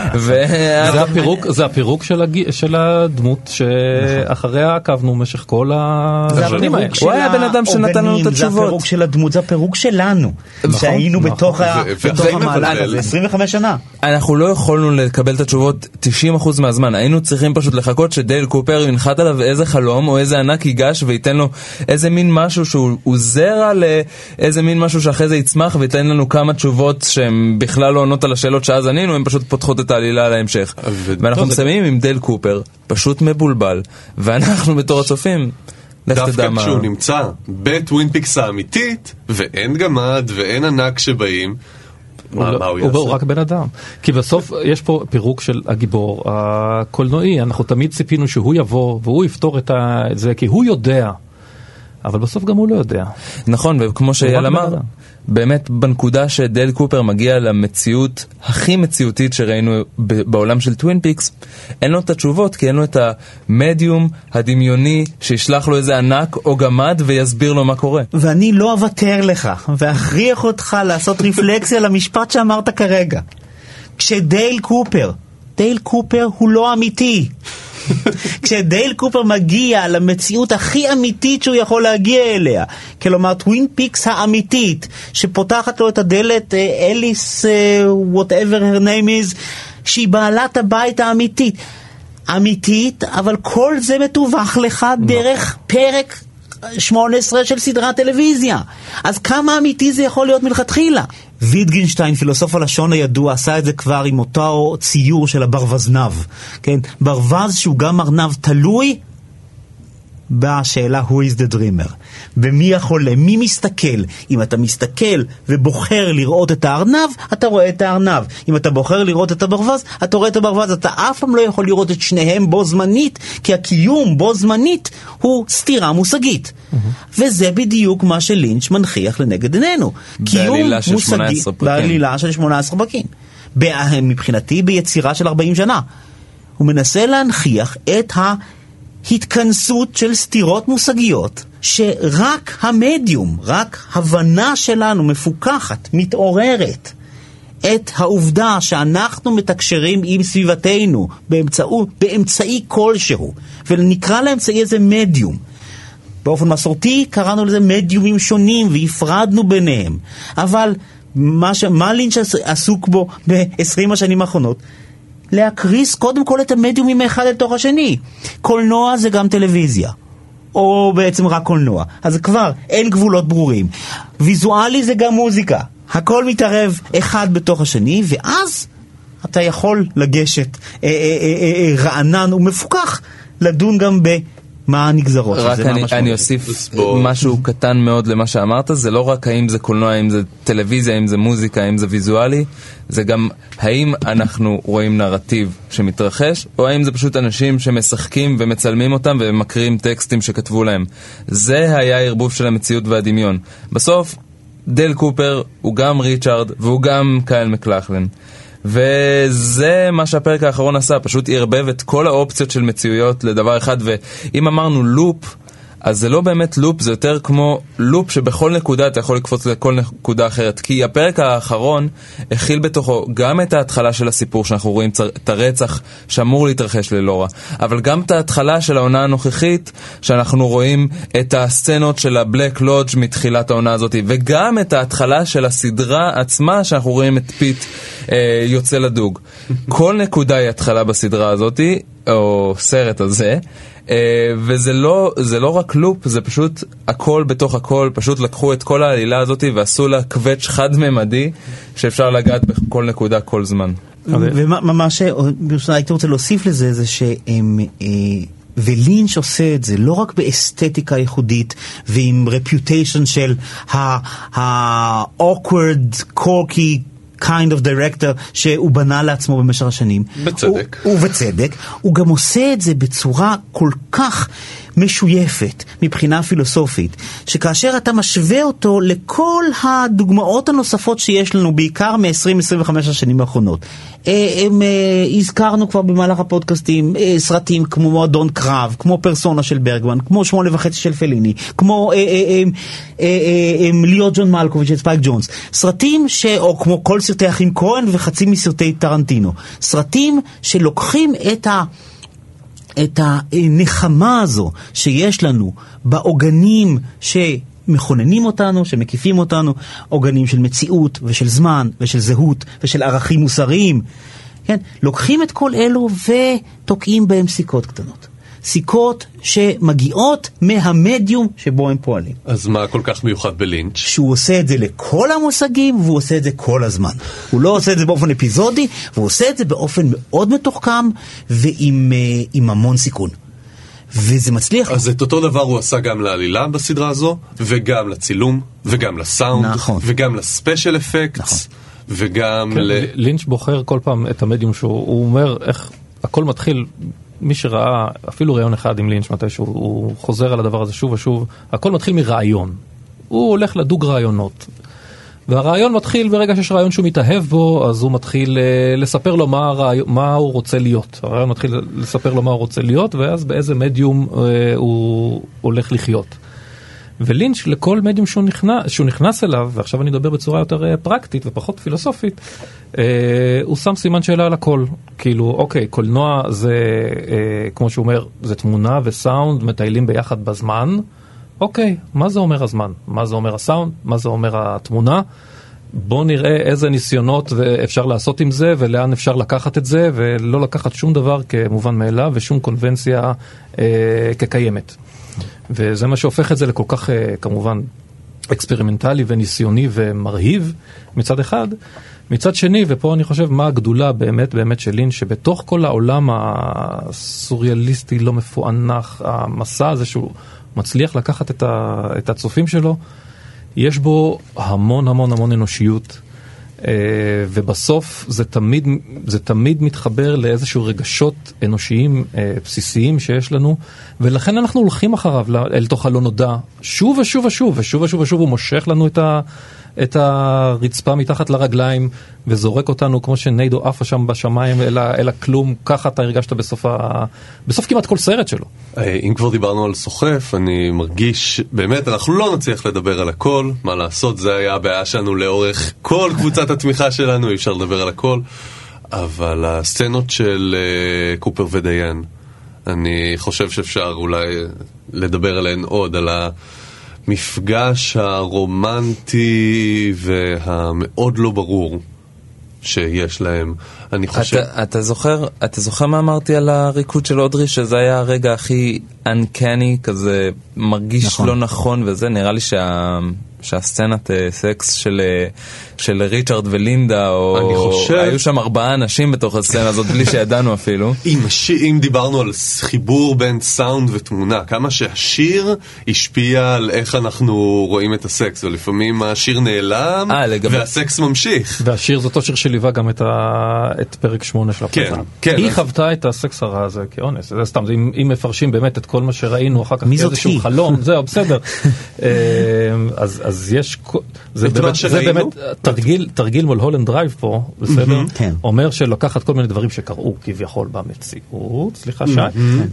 [SPEAKER 6] זה הפירוק, זה הפירוק של, הג... של הדמות שאחריה עקבנו במשך כל השנים האלה.
[SPEAKER 4] הוא היה בן אדם שנתן לנו את התשובות.
[SPEAKER 3] זה הפירוק של הדמות, זה הפירוק שלנו. שהיינו בתוך המהלך הזה עשרים וחמש שנה.
[SPEAKER 4] אנחנו לא יכולנו לקבל את התשובות תשעים אחוז מהזמן. היינו צריכים פשוט לחכות שדייל קופר ינחת עליו איזה חלום או איזה ענק ייגש וייתן לו איזה מין משהו שהוא הוא זרע לאיזה מין משהו שאחרי זה יצמח ויתן לנו כמה תשובות שהן בכלל לא עונות על השאלות שאז ענינו, הן פשוט פותחות את העלילה על ההמשך. ואנחנו מסיימים עם דייל קופר, פשוט מבולבל, ואנחנו בתור הצופים,
[SPEAKER 2] דווקא כשהוא נמצא בטווין פיקס האמיתית, ואין גמד ואין ענק שבאים,
[SPEAKER 6] הוא רק בן אדם. כי בסוף יש פה פירוק של הגיבור הקולנועי, אנחנו תמיד ציפינו שהוא יבוא והוא יפתור את זה, כי הוא יודע. אבל בסוף גם הוא לא יודע.
[SPEAKER 4] נכון, וכמו שאייל אמר, באמת בנקודה שדייל קופר מגיע למציאות הכי מציאותית שראינו בעולם של טווין פיקס, אין לו את התשובות, כי אין לו את המדיום הדמיוני שישלח לו איזה ענק או גמד ויסביר לו מה קורה.
[SPEAKER 3] ואני לא אוותר לך, ואכריח אותך לעשות רפלקסיה למשפט שאמרת כרגע. כשדייל קופר, דייל קופר הוא לא אמיתי. כשדייל קופר מגיע למציאות הכי אמיתית שהוא יכול להגיע אליה, כלומר טווין פיקס האמיתית שפותחת לו את הדלת אליס whatever her name is, שהיא בעלת הבית האמיתית אמיתית, אבל כל זה מתווך לך דרך פרק שמונה עשרה של סדרת טלוויזיה. אז כמה אמיתי זה יכול להיות מלכתחילה? ויטגנשטיין, פילוסוף הלשון הידוע, עשה את זה כבר עם אותו ציור של הברווזנב. כן? ברווז שהוא גם ארנב תלוי בשאלה who is the dreamer. במי החולם? מי מסתכל? אם אתה מסתכל ובוחר לראות את הארנב, אתה רואה את הארנב. אם אתה בוחר לראות את הברווז, אתה רואה את הברווז. אתה אף פעם לא יכול לראות את שניהם בו זמנית, כי הקיום בו זמנית הוא סתירה מושגית. Mm-hmm. וזה בדיוק מה שלינץ' מנחיח לנגד עינינו.
[SPEAKER 4] בעלילה של שמונה עשרה פרקים.
[SPEAKER 3] בעלילה של שמונה עשרה פרקים. מבחינתי ביצירה של ארבעים שנה. הוא מנסה להנחיח את ה... התכנסות של סתירות מושגיות שרק המדיום, רק הבנה שלנו מפוקחת, מתעוררת את העובדה שאנחנו מתקשרים עם סביבתנו באמצעו, באמצעי כלשהו, ונקרא לאמצעי איזה מדיום. באופן מסורתי קראנו לזה מדיומים שונים והפרדנו ביניהם, אבל מה, ש... מה לינץ' עסוק בו ב-עשרים השנים האחרונות? להקריס קודם כל את המדיומים מאחד אל תוך השני. קולנוע זה גם טלוויזיה, או בעצם רק קולנוע, אז כבר אין גבולות ברורים. ויזואלי זה גם מוזיקה, הכל מתערב אחד בתוך השני, ואז אתה יכול לגשת אה, אה, אה, אה, רענן ומפוקח לדון גם מה הנגזרות?
[SPEAKER 4] רק אני, אני אוסיף משהו קטן מאוד למה שאמרת, זה לא רק האם זה קולנוע, האם זה טלוויזיה, האם זה מוזיקה, האם זה ויזואלי, זה גם האם אנחנו רואים נרטיב שמתרחש, או האם זה פשוט אנשים שמשחקים ומצלמים אותם ומקריאים טקסטים שכתבו להם. זה היה הערבוב של המציאות והדמיון. בסוף, דייל קופר הוא גם ריצ'ארד והוא גם קייל מקלכלן. וזה מה שהפרק האחרון עשה, פשוט ערבב את כל האופציות של מציאויות לדבר אחד. ואם אמרנו לופ, אז זה לא באמת לופ, זה יותר כמו לופ שבכל נקודה אתה יכול לקפוץ לכל נקודה אחרת, כי הפרק האחרון הכיל בתוכו גם את ההתחלה של הסיפור שאנחנו רואים את הרצח שאמור להתרחש ללורה, אבל גם את ההתחלה של העונה הנוכחית שאנחנו רואים את הסצנות של הבלק לודג' מתחילת העונה הזאת, וגם את ההתחלה של הסדרה עצמה שאנחנו רואים את פיט אה, יוצא לדוג. כל נקודה היא התחלה בסדרה הזאת או סרט הזה, Uh, וזה לא, זה לא רק לופ, זה פשוט הכל בתוך הכל, פשוט לקחו את כל העלילה הזאת ועשו לה קווץ' חד-ממדי שאפשר לגעת בכל נקודה כל זמן.
[SPEAKER 3] ומה שהייתי רוצה להוסיף לזה זה שהם ולינץ' עושה את זה לא רק באסתטיקה ייחודית ועם רפיוטיישן של ה-awkward, corky kind of director שהוא בנה לעצמו במשך השנים.
[SPEAKER 2] בצדק.
[SPEAKER 3] הוא, ובצדק. הוא גם עושה את זה בצורה כל כך משויפת מבחינה פילוסופית, שכאשר אתה משווה אותו לכל הדוגמאות הנוספות שיש לנו, בעיקר מ-עשרים עשרים וחמש השנים האחרונות. הם, הזכרנו כבר במהלך הפודקאסטים סרטים כמו מועדון קרב, כמו פרסונה של ברגמן, כמו שמונה וחצי של פליני, כמו להיות ג'ון מלקוביץ' את ספייק ג'ונס. סרטים ש... או כמו כל סרטי אחים כהן וחצי מסרטי טרנטינו. סרטים שלוקחים את ה... את הנחמה הזו שיש לנו בעוגנים שמכוננים אותנו, שמקיפים אותנו, עוגנים של מציאות ושל זמן ושל זהות ושל ערכים מוסריים, כן? לוקחים את כל אלו ותוקעים בהם סיכות קטנות. סיכות שמגיעות מהמדיום שבו הם פועלים.
[SPEAKER 2] אז מה כל כך מיוחד בלינץ'?
[SPEAKER 3] שהוא עושה את זה לכל המושגים, והוא עושה את זה כל הזמן. הוא לא עושה את זה באופן אפיזודי, והוא עושה את זה באופן מאוד מתוחכם, ועם עם המון סיכון. וזה מצליח.
[SPEAKER 2] אז את אותו דבר הוא עשה גם לעלילה בסדרה הזו, וגם לצילום, וגם לסאונד,
[SPEAKER 3] נכון.
[SPEAKER 2] וגם לספיישל אפקטס, נכון. וגם
[SPEAKER 6] כן,
[SPEAKER 2] ל...
[SPEAKER 6] לינץ' בוחר כל פעם את המדיום שהוא, הוא אומר איך הכל מתחיל... מי שראה אפילו רעיון אחד עם לינץ' מתישהו, הוא חוזר על הדבר הזה שוב ושוב, הכל מתחיל מרעיון. הוא הולך לדוג רעיונות. והרעיון מתחיל ברגע שיש רעיון שהוא מתאהב בו, אז הוא מתחיל לספר לו מה, הרעיון, מה הוא רוצה להיות. הרעיון מתחיל לספר לו מה הוא רוצה להיות, ואז באיזה מדיום הוא הולך לחיות. ולינץ' לכל מדיום שהוא נכנס, שהוא נכנס אליו, ועכשיו אני אדבר בצורה יותר פרקטית ופחות פילוסופית, אה, הוא שם סימן שאלה על הכל. כאילו, אוקיי, קולנוע זה, אה, כמו שהוא אומר, זה תמונה וסאונד מטיילים ביחד בזמן. אוקיי, מה זה אומר הזמן? מה זה אומר הסאונד? מה זה אומר התמונה? בוא נראה איזה ניסיונות אפשר לעשות עם זה, ולאן אפשר לקחת את זה, ולא לקחת שום דבר כמובן מאליו, ושום קונבנציה אה, כקיימת. וזה מה שהופך את זה לכל כך, כמובן, אקספרימנטלי וניסיוני ומרהיב מצד אחד. מצד שני, ופה אני חושב מה הגדולה באמת באמת של לינץ', שבתוך כל העולם הסוריאליסטי לא מפוענח, המסע הזה שהוא מצליח לקחת את, ה, את הצופים שלו, יש בו המון המון המון אנושיות, ובסוף זה תמיד, זה תמיד מתחבר לאיזשהו רגשות אנושיים בסיסיים שיש לנו, ולכן אנחנו הולכים אחריו אל תוך הלא נודע, שוב ושוב ושוב, ושוב ושוב ושוב הוא מושך לנו את ה... את הרצפה מתחת לרגליים וזורק אותנו כמו שניידו עפה שם בשמיים אל, אל הכלום. ככה אתה הרגשת בסוף, ה... בסוף כמעט כל סרט שלו.
[SPEAKER 2] אם כבר דיברנו על סוחף, אני מרגיש באמת אנחנו לא נצליח לדבר על הכל, מה לעשות, זה היה הבעיה שלנו לאורך כל קבוצת התמיכה שלנו, אי אפשר לדבר על הכל, אבל הסצנות של uh, קופר ודיין, אני חושב שאפשר אולי לדבר עליהן עוד, על ה... מפגש הרומנטי והמאוד לא ברור שיש להם. אני חושב...
[SPEAKER 4] אתה, אתה זוכר, אתה זוכר מה אמרתי על הריקוד של אודרי, שזה היה הרגע הכי uncanny, כזה מרגיש נכון. לא נכון, וזה נראה לי שה... שהסצנת סקס של, של ריצ'רד ולינדה, או
[SPEAKER 2] אני חושב...
[SPEAKER 4] היו שם ארבעה אנשים בתוך הסצנה הזאת, בלי שידענו אפילו.
[SPEAKER 2] אם, אם דיברנו על חיבור בין סאונד ותמונה, כמה שהשיר השפיע על איך אנחנו רואים את הסקס, ולפעמים השיר נעלם, 아, לגב... והסקס ממשיך.
[SPEAKER 6] והשיר זה אותו שיר שליווה גם את, ה... את פרק שמונה של הפרק.
[SPEAKER 2] כן, כן.
[SPEAKER 6] היא אז... חוותה את הסקס הרע הזה כאונס, זה סתם, זה, אם, אם מפרשים באמת את כל מה שראינו אחר כך כאיזשהו חלום, זהו, בסדר. אז, אז יש, זה באמת, זה באמת תרגיל, תרגיל מול הולנד דרייב פה, בסדר? אומר שלוקחת כל מיני דברים שקראו כביכול במציאות, סליחה שי,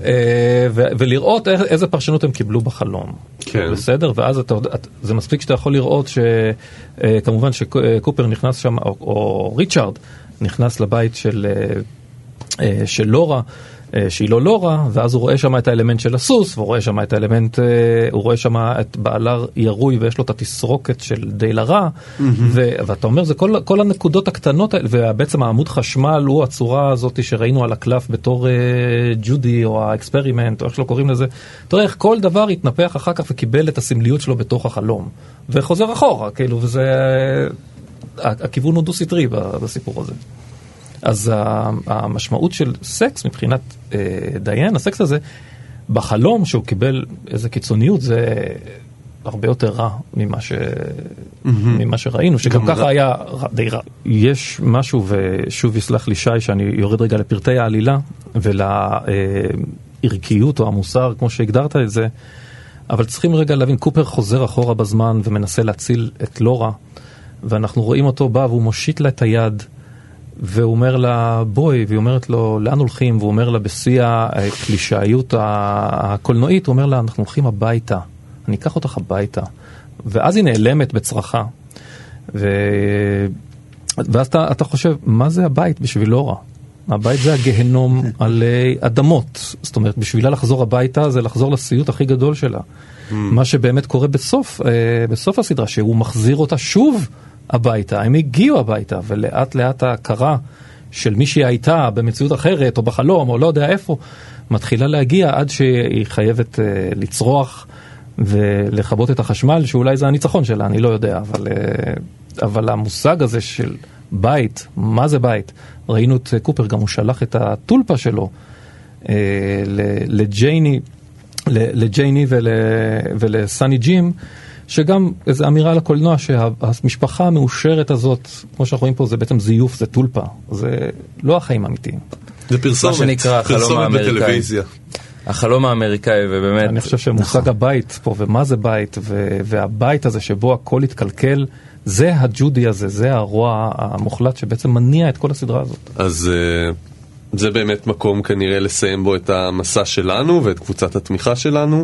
[SPEAKER 6] ולראות איזה פרשנות הם קיבלו בחלום. בסדר? ואז זה מספיק שאתה יכול לראות שכמובן שקופר נכנס שם, או ריצ'רד נכנס לבית של של לורה, שהיא לא לורה, ואז הוא רואה שם את האלמנט של הסוס, והוא רואה שם את האלמנט, הוא רואה שם את בעלה ירוי, ויש לו את התסרוקת של די לרע, ואתה אומר, זה כל, כל הנקודות הקטנות, ובעצם העמוד חשמל הוא הצורה הזאת שראינו על הקלף בתור ג'ודי, או האקספרימנט, או איך שלא קוראים לזה. תראה איך כל דבר התנפח אחר כך וקיבל את הסמליות שלו בתוך החלום, וחוזר אחורה, כאילו, וזה, הכיוון הוא דו-סטרי בסיפור הזה. אז המשמעות של סקס מבחינת אה, דיין, הסקס הזה, בחלום שהוא קיבל איזה קיצוניות, זה הרבה יותר רע ממה, ש... mm-hmm. ממה שראינו, שגם ככה רע. היה די רע. יש משהו, ושוב יסלח לי שי, שאני יורד רגע לפרטי העלילה, ולערכיות או המוסר, כמו שהגדרת את זה, אבל צריכים רגע להבין, קופר חוזר אחורה בזמן, ומנסה להציל את לורה, ואנחנו רואים אותו בא, והוא מושיט לה את היד, והוא אומר לה בואי, והיא אומרת לו לאן הולכים, והוא אומר לה בשיא הקלישאיות הקולנועית, הוא אומר לה אנחנו הולכים הביתה, אני אקח אותך הביתה, ואז היא נעלמת בצרחה, ו... ואז אתה, אתה חושב מה זה הבית בשביל לורה? הבית זה הגהנום עלי אדמות, זאת אומרת בשבילה לחזור הביתה זה לחזור לסיוט הכי גדול שלה, mm. מה שבאמת קורה בסוף, בסוף הסדרה, שהוא מחזיר אותה שוב הביתה, הם הגיעו הביתה, ולאט לאט ההכרה של מי שהיא הייתה במציאות אחרת, או בחלום, או לא יודע איפה, מתחילה להגיע עד שהיא חייבת uh, לצרוח ולכבות את החשמל, שאולי זה הניצחון שלה, אני לא יודע, אבל, uh, אבל המושג הזה של בית, מה זה בית? ראינו את uh, קופר, גם הוא שלח את הטולפה שלו uh, לג'ייני, לג'ייני ול, ולסני ג'ים, שגם איזו אמירה לקולנוע שהמשפחה המאושרת הזאת, כמו שאנחנו רואים פה, זה בעצם זיוף, זה טולפה, זה לא החיים האמיתיים.
[SPEAKER 2] זה פרסומת, פרסומת בטלוויזיה.
[SPEAKER 4] החלום האמריקאי, ובאמת...
[SPEAKER 6] אני חושב שמושג הבית פה, ומה זה בית, והבית הזה שבו הכל התקלקל, זה הג'ודי הזה, זה הרוע המוחלט שבעצם מניע את כל הסדרה הזאת.
[SPEAKER 2] אז זה באמת מקום כנראה לסיים בו את המסע שלנו, ואת קבוצת התמיכה שלנו.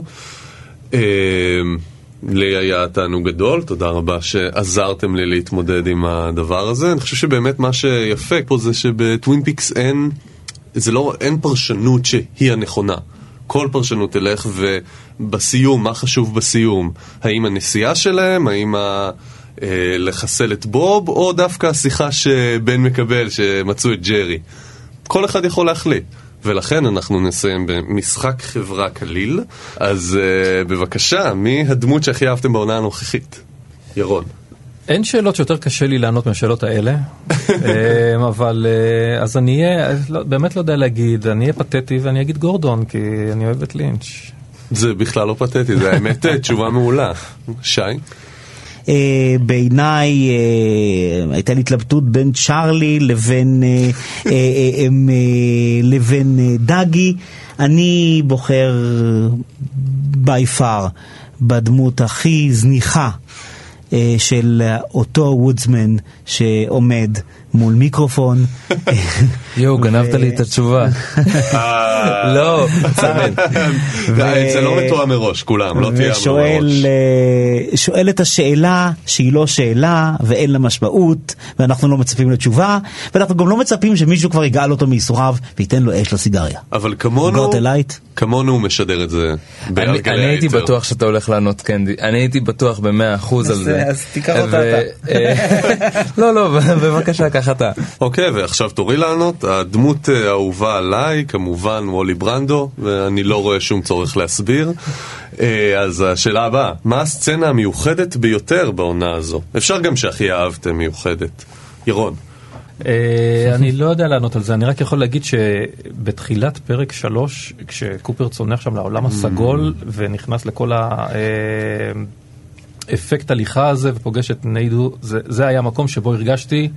[SPEAKER 2] לי היה תענוג גדול, תודה רבה שעזרתם לי להתמודד עם הדבר הזה. אני חושב שבאמת מה שיפה פה זה שבטווין פיקס אין, זה לא, אין פרשנות שהיא הנכונה. כל פרשנות תלך, ובסיום, מה חשוב בסיום? האם הנסיעה שלהם, האם ה... לחסל את בוב, או דווקא השיחה שבן מקבל שמצאו את ג'רי. כל אחד יכול להחליט. ולכן אנחנו נסיים במשחק חברה כליל. אז uh, בבקשה, מי הדמות שהכי אהבתם בעונה הנוכחית? ירון.
[SPEAKER 6] אין שאלות שיותר קשה לי לענות מהשאלות האלה, אבל אז אני אהיה, באמת לא יודע להגיד, אני אהיה פתטי ואני אגיד גורדון, כי אני אוהב את לינץ'.
[SPEAKER 2] זה בכלל לא פתטי, זה האמת תשובה מעולה. שי?
[SPEAKER 3] בעיניי הייתה לי התלבטות בין צ'ארלי לבין לבין דאגי. אני בוחר by far בדמות הכי זניחה של אותו וודסמן שעומד מול מיקרופון.
[SPEAKER 4] יו, גנבת לי את התשובה. לא,
[SPEAKER 2] זה לא מתואם מראש, כולם, לא תהיה מראש.
[SPEAKER 3] שואל את השאלה שהיא לא שאלה ואין לה משמעות, ואנחנו לא מצפים לתשובה, ואנחנו גם לא מצפים שמישהו כבר יגאל אותו מייסוריו וייתן לו אש לסיגריה.
[SPEAKER 2] אבל כמונו, כמונו הוא משדר את זה בגלי היתר.
[SPEAKER 4] אני הייתי בטוח שאתה הולך לענות קנדי, אני הייתי בטוח במאה אחוז על זה.
[SPEAKER 3] אז תיקח אותה אתה.
[SPEAKER 4] לא, לא, בבקשה, ככה אתה.
[SPEAKER 2] אוקיי, ועכשיו תורי לענות, הדמות האהובה עליי, כמובן וולי ברנדו, ואני לא רואה שום צורך להסביר. אז השאלה הבאה, מה הסצנה המיוחדת ביותר בעונה הזו? אפשר גם שהכי אהבתם מיוחדת. ירון.
[SPEAKER 6] אני לא יודע לענות על זה, אני רק יכול להגיד שבתחילת פרק שלוש, כשקופר צונח שם לעולם הסגול ונכנס לכל האפקט הליכה הזה ופוגש את ניידו, זה, זה היה מקום שבו הרגשתי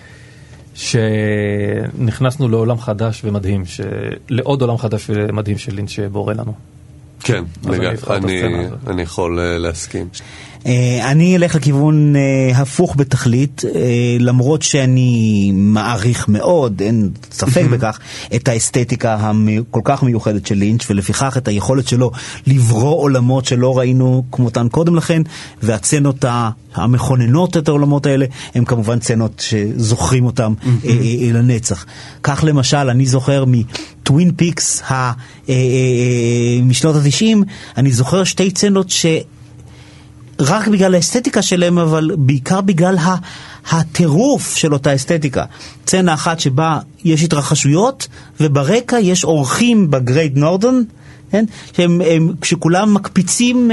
[SPEAKER 6] שנכנסנו לעולם חדש ומדהים, לעוד עולם חדש ומדהים של לינץ' שבורא לנו.
[SPEAKER 2] כן, אני, אני, אני יכול להסכים.
[SPEAKER 3] אני אלך לכיוון הפוך בתכלית, למרות שאני מעריך מאוד, אין ספק בכך, את האסתטיקה הכל כך מיוחדת של לינץ' ולפיכך את היכולת שלו לברוא עולמות שלא ראינו כמותן קודם לכן, והצנות המכוננות את העולמות האלה הם כמובן צנות שזוכרים אותם לנצח. כך למשל אני זוכר מטווין פיקס משנות ה-תשעים, אני זוכר שתי צנות ש... רק בגלל האסתטיקה שלהם, אבל בעיקר בגלל הטירוף של אותה אסתטיקה. צנה אחת שבה יש התרחשויות, וברקע יש אורחים בגרייט נורדון, כן? שהם, הם, שכולם מקפיצים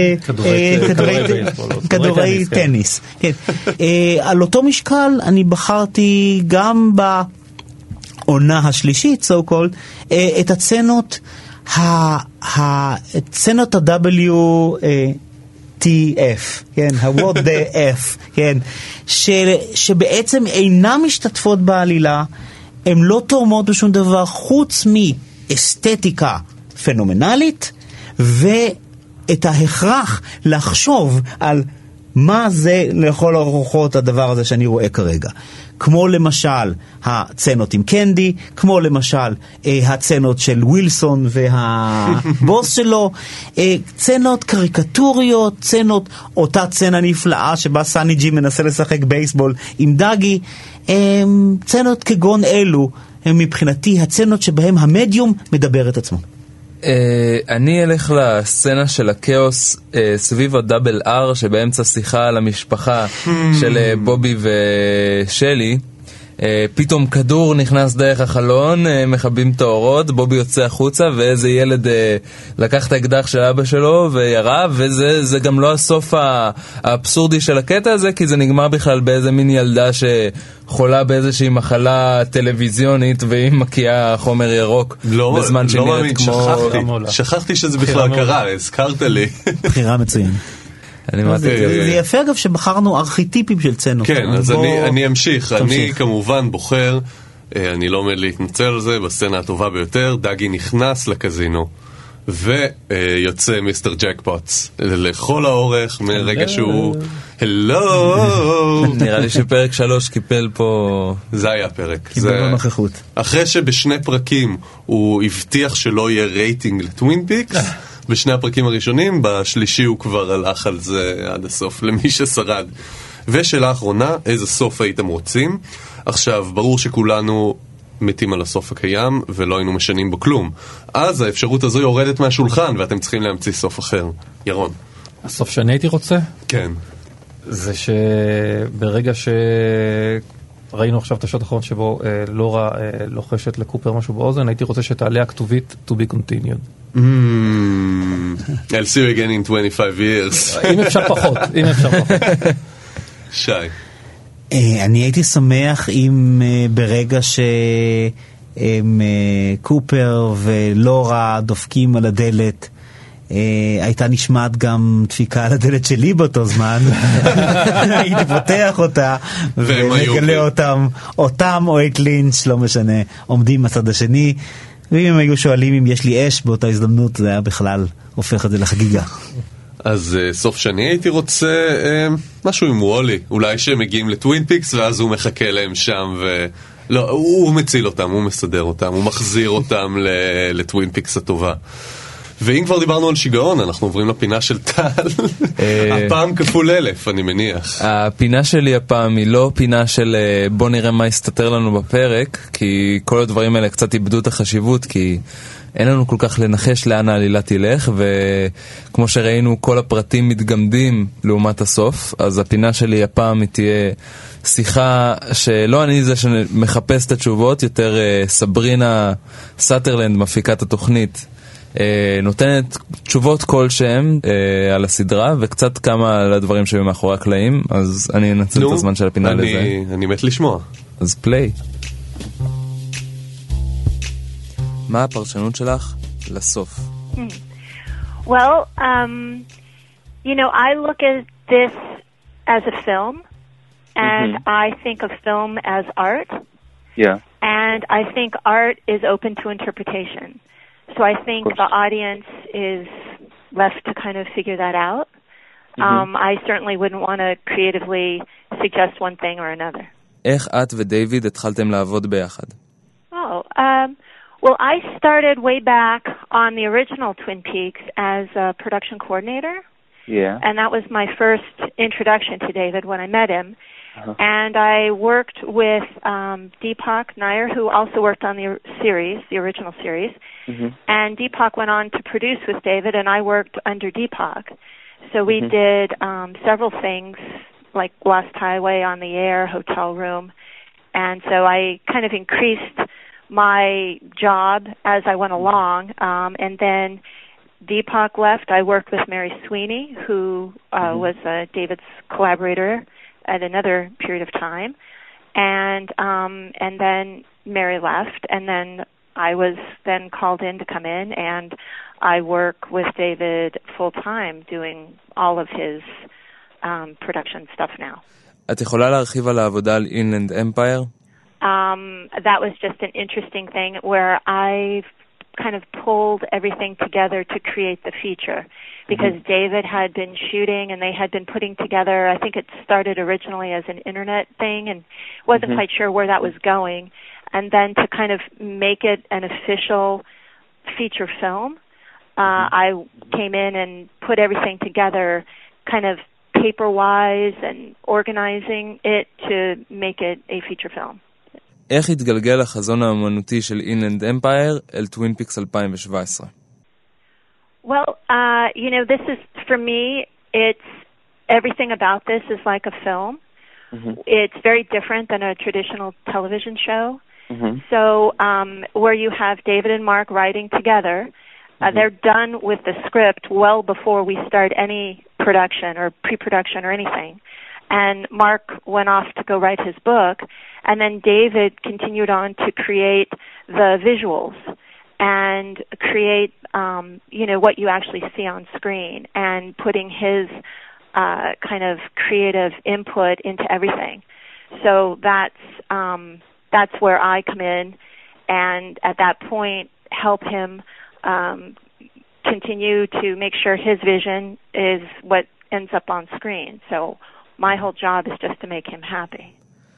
[SPEAKER 3] כדורי טניס. כן. על אותו משקל אני בחרתי גם בעונה השלישית, so called, את הצנות, הצנות ה-W... טי אף, כן, ה-What the F, כן, ש, שבעצם אינם משתתפות בעלילה, הן לא תורמות בשום דבר חוץ מאסתטיקה פנומנלית, ואת ההכרח לחשוב על מה זה לכל הרוחות הדבר הזה שאני רואה כרגע. כמו למשל הצנות עם קנדי, כמו למשל אה, הצנות של ווילסון והבוס שלו, אה, צנות קריקטוריות, צנות, אותה צנה נפלאה שבה סני ג'י מנסה לשחק בייסבול עם דאגי, אה, צנות כגון אלו הם מבחינתי הצנות שבהם המדיום מדבר את עצמו.
[SPEAKER 4] אני אלך לסצנה של הקאוס סביב הדאבל אר שבאמצע שיחה על המשפחה של בובי ושלי. פתאום כדור נכנס דרך החלון, מחבים את האורות, בובי יוצא החוצה ואיזה ילד לקח את האקדח של אבא שלו וירה, וזה זה גם לא הסוף האבסורדי של הקטע הזה, כי זה נגמר בכלל באיזה מין ילדה שחולה באיזושהי מחלה טלוויזיונית והיא מקיאה חומר ירוק
[SPEAKER 2] לא,
[SPEAKER 4] בזמן שנראית
[SPEAKER 2] לא מאמין,
[SPEAKER 4] כמו...
[SPEAKER 2] שכחתי, שכחתי שזה בכלל קרה, הזכרת לי.
[SPEAKER 3] בחירה מצוין. זה יפה אגב שבחרנו ארכיטיפים של צנות.
[SPEAKER 2] כן, אז אני אמשיך. אני כמובן בוחר, אני לא עומד להתנצל על זה, בסצנה הטובה ביותר, דאגי נכנס לקזינו ויוצא מיסטר ג'קפוטס לכל האורך מרגע שהוא הלו.
[SPEAKER 4] נראה לי שפרק שלוש קיפל פה,
[SPEAKER 2] זה היה פרק,
[SPEAKER 3] קיבל בנוכחות.
[SPEAKER 2] אחרי שבשני פרקים הוא הבטיח שלא יהיה רייטינג לטווין פיקס, בשני הפרקים הראשונים, בשלישי הוא כבר הלך על זה עד הסוף, למי ששרד. ושאלה האחרונה, איזה סוף הייתם רוצים? עכשיו, ברור שכולנו מתים על הסוף הקיים, ולא היינו משנים בו כלום. אז האפשרות הזו יורדת מהשולחן, ואתם צריכים להמציא סוף אחר. ירון.
[SPEAKER 6] הסוף שאני הייתי רוצה?
[SPEAKER 2] כן.
[SPEAKER 6] זה שברגע שראינו עכשיו את השעות האחרון שבו אה, לורה אה, לוחשת לקופר משהו באוזן, הייתי רוצה שתעלה הכתובית to be continued.
[SPEAKER 2] Mm, I'll see you again in twenty-five years.
[SPEAKER 6] אם אפשר פחות, אם אפשר פחות.
[SPEAKER 2] שי.
[SPEAKER 3] אני הייתי שמח אם ברגע שקופר ולורה דופקים על הדלת, הייתה נשמעת גם דפיקה על הדלת שלי באותו זמן, הייתי פותח אותה ומגלה אותם, אותם או את לינץ', לא משנה, עומדים מהצד השני, ואם הם היו שואלים אם יש לי אש באותה הזדמנות, זה היה בכלל הופך את זה לחגיגה.
[SPEAKER 2] אז uh, סוף שני הייתי רוצה uh, משהו עם וולי, אולי שהם מגיעים לטווין פיקס ואז הוא מחכה להם שם ו... לא, הוא, הוא מציל אותם, הוא מסדר אותם, הוא מחזיר אותם לטווין פיקס הטובה. ואם כבר דיברנו על שיגעון, אנחנו עוברים לפינה של טל. הפעם כפול אלף, אני מניח.
[SPEAKER 4] הפינה שלי הפעם היא לא פינה של בוא נראה מה יסתתר לנו בפרק, כי כל הדברים האלה קצת איבדו את החשיבות, כי אין לנו כל כך לנחש לאן העלילה תלך, וכמו שראינו כל הפרטים מתגמדים לעומת הסוף, אז הפינה שלי הפעם היא תהיה שיחה שלא אני זה שמחפש את התשובות, יותר סברינה סאטרלנד, מפיקת התוכנית, נותנת תשובות כלשהם על הסדרה, וקצת כמה על הדברים שהיו מאחורי הקלעים, אז אני אנצל את הזמן של הפינה לזה.
[SPEAKER 2] אני מת לשמוע.
[SPEAKER 4] אז פליי. מה הפרשנות שלך לסוף?
[SPEAKER 5] Well, um, you know, I look at this as a film, and mm-hmm. I think of film as art.
[SPEAKER 7] Yeah.
[SPEAKER 5] And I think art is open to interpretation. So I think the audience is left to kind of figure that out. Mm-hmm. Um, I certainly wouldn't want to creatively suggest one thing or another.
[SPEAKER 4] איך את ודייוויד התחלתם לעבוד ביחד?
[SPEAKER 5] Oh, um, well, I started way back on the original Twin Peaks as a production coordinator.
[SPEAKER 7] Yeah.
[SPEAKER 5] And that was my first introduction to David when I met him. Uh-huh. And I worked with um, Deepak Nair, who also worked on the series, the original series. Mm-hmm. And Deepak went on to produce with David, and I worked under Deepak. So we mm-hmm. did um, several things, like Lost Highway, On the Air, Hotel Room. And so I kind of increased my job as I went along. Um, and then Deepak left. I worked with Mary Sweeney, who uh, mm-hmm. was uh, David's collaborator at another period of time. And um, and then Mary left. And then I was then called in to come in, and I work with David full-time doing all of his um, production stuff now.
[SPEAKER 4] את יכולה להרחיב על העבודה על Inland Empire?
[SPEAKER 5] Um, that was just an interesting thing where I kind of pulled everything together to create the feature, because mm-hmm. David had been shooting and they had been putting together, I think it started originally as an internet thing and wasn't mm-hmm. quite sure where that was going, and then to kind of make it an official feature film, uh, I came in and put everything together kind of paper-wise and organizing it to make it a feature film.
[SPEAKER 4] איך התגלגל החזון האמנותי של Inland Empire אל Twin Peaks twenty seventeen?
[SPEAKER 5] Well, uh, you know, this is, for me, it's, everything about this is like a film. Mm-hmm. It's very different than a traditional television show. Mm-hmm. So, um, where you have David and Mark writing together, uh, mm-hmm. they're done with the script well before we start any production or pre-production or anything. And Mark went off to go write his book, and then David continued on to create the visuals and create, um, you know, what you actually see on screen, and putting his uh, kind of creative input into everything. So that's um, that's where I come in, and at that point help him um, continue to make sure his vision is what ends up on screen. So my whole job is just to make him happy.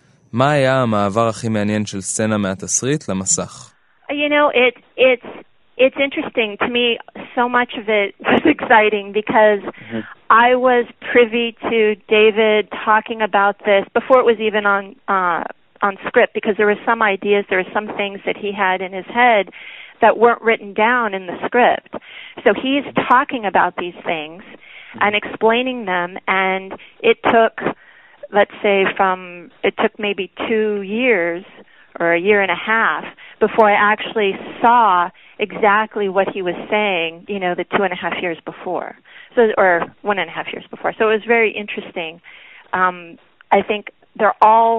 [SPEAKER 4] מה היה המעבר הכי מעניין של סצנה מהתסריט למסך?
[SPEAKER 5] You know, it, it's, it's interesting. To me, so much of it was exciting because mm-hmm. I was privy to David talking about this before it was even on, uh, on script, because there were some ideas, there were some things that he had in his head that weren't written down in the script. So he's talking about these things and explaining them, and it took, let's say from, it took maybe two years or a year and a half before I actually saw exactly what he was saying, you know, the two and a half years before, so, or one and a half years before. So it was very interesting. Um, I think they're all,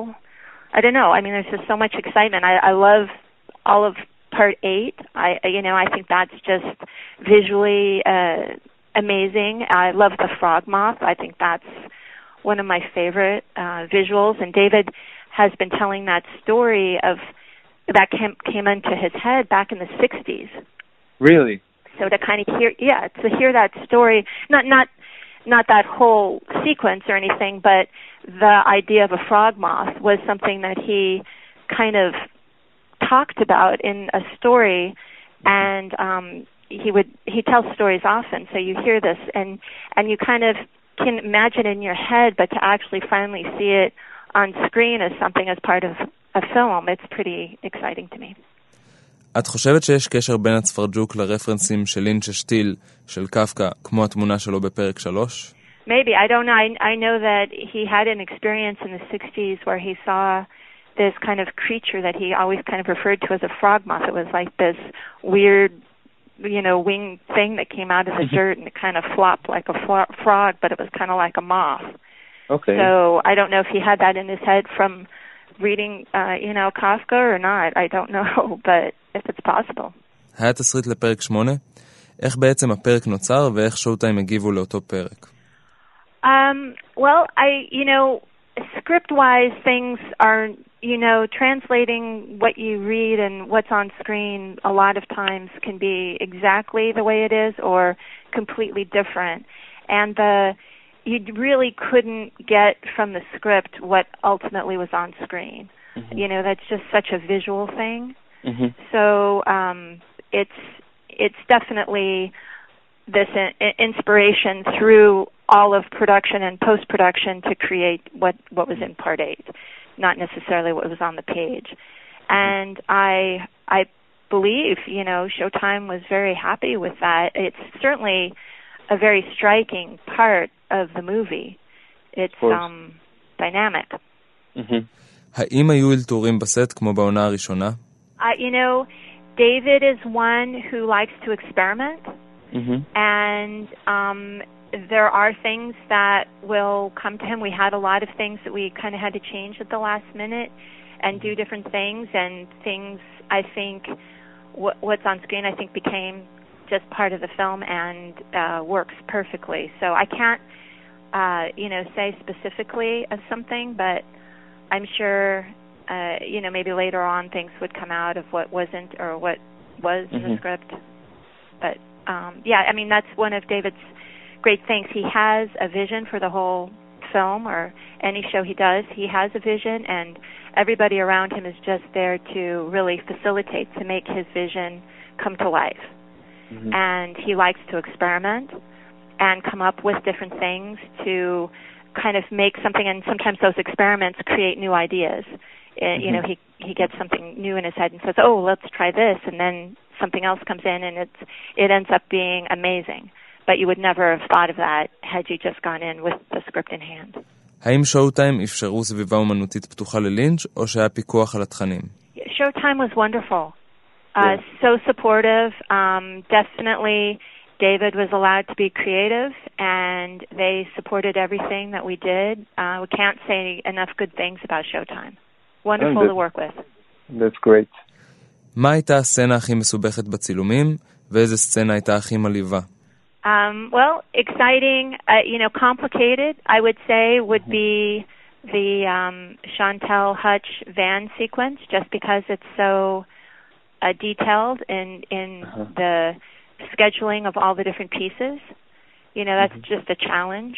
[SPEAKER 5] I don't know, I mean, there's just so much excitement. I, I love all of part eight. I, you know, I think that's just visually uh, amazing. I love the frog moth. I think that's one of my favorite uh, visuals. And David has been telling that story of that came, came into his head back in the sixties.
[SPEAKER 7] Really?
[SPEAKER 5] So to kind of hear, yeah, to hear that story, not not not that whole sequence or anything, but the idea of a frog moth was something that he kind of talked about in a story, and um, he would he tells stories often. So you hear this, and and you kind of can imagine in your head, but to actually finally see it on screen as something as part of a film, it's pretty exciting to me.
[SPEAKER 4] את חושבת שיש קשר בין הצפרג'וק לרפרנסים של לינץ' שטיל של קפקא, כמו התמונה שלו בפרק שלוש?
[SPEAKER 5] Maybe, I don't know. I, I know that he had an experience in the sixties where he saw this kind of creature that he always kind of referred to as a frog moth. It was like this weird, you know, winged thing that came out of the dirt and it kind of flopped like a flo- frog, but it was kind of like a moth.
[SPEAKER 7] Okay.
[SPEAKER 5] So I don't know if he had that in his head from reading, uh, you know, Kafka or not. I don't know, but if it's possible.
[SPEAKER 4] היה תסריט לפרק שמונה? איך בעצם הפרק נוצר ואיך שואו-טיים הגיבו לאותו פרק?
[SPEAKER 5] Um, well, I, you know, script-wise, things are, you know, translating what you read and what's on screen a lot of times can be exactly the way it is or completely different. And the you really couldn't get from the script what ultimately was on screen. Mm-hmm. You know, that's just such a visual thing. Mm-hmm. So um, it's it's definitely this in- inspiration through all of production and post-production to create what, what was in part eight, not necessarily what was on the page. And I I believe, you know, Showtime was very happy with that. It's certainly a very striking part of the movie. It's um, dynamic.
[SPEAKER 4] Mm-hmm. האם היו אלתורים בסט כמו בעונה הראשונה?
[SPEAKER 5] Uh, you know, David is one who likes to experiment. Mm-hmm. And um, there are things that will come to him. We had a lot of things that we kind of had to change at the last minute and do different things. And things, I think, w- what's on screen, I think, became just part of the film and uh, works perfectly. So I can't, uh, you know, say specifically of something, but I'm sure, uh, you know, maybe later on things would come out of what wasn't or what was mm-hmm. in the script. But, um, yeah, I mean, that's one of David's great things. He has a vision for the whole film or any show he does. He has a vision, and everybody around him is just there to really facilitate, to make his vision come to life. Mm-hmm. And he likes to experiment and come up with different things to kind of make something, and sometimes those experiments create new ideas. Mm-hmm. You know, he he gets something new in his head and says, oh, let's try this, and then something else comes in, and it's it ends up being amazing. But you would never have thought of that had you just gone in with the script in hand.
[SPEAKER 4] האם שואו-טיים אפשרו סביבה אומנותית פתוחה ללינץ' או שהיה פיקוח על התכנים?
[SPEAKER 5] Showtime was wonderful. Uh, so supportive. Um, definitely David was allowed to be creative, and they supported everything that we did. Uh, we can't say enough good things about Showtime. Wonderful to work with.
[SPEAKER 7] That's great.
[SPEAKER 4] מה הייתה הסצנה הכי מסובכת בצילומים, ואיזה סצנה הייתה הכי מלהיבה?
[SPEAKER 5] Um, well, exciting, uh, you know, complicated, I would say, would be the um, Chantal Hutch van sequence, just because it's so uh, detailed in, in uh-huh. the scheduling of all the different pieces. You know, that's mm-hmm. just a challenge.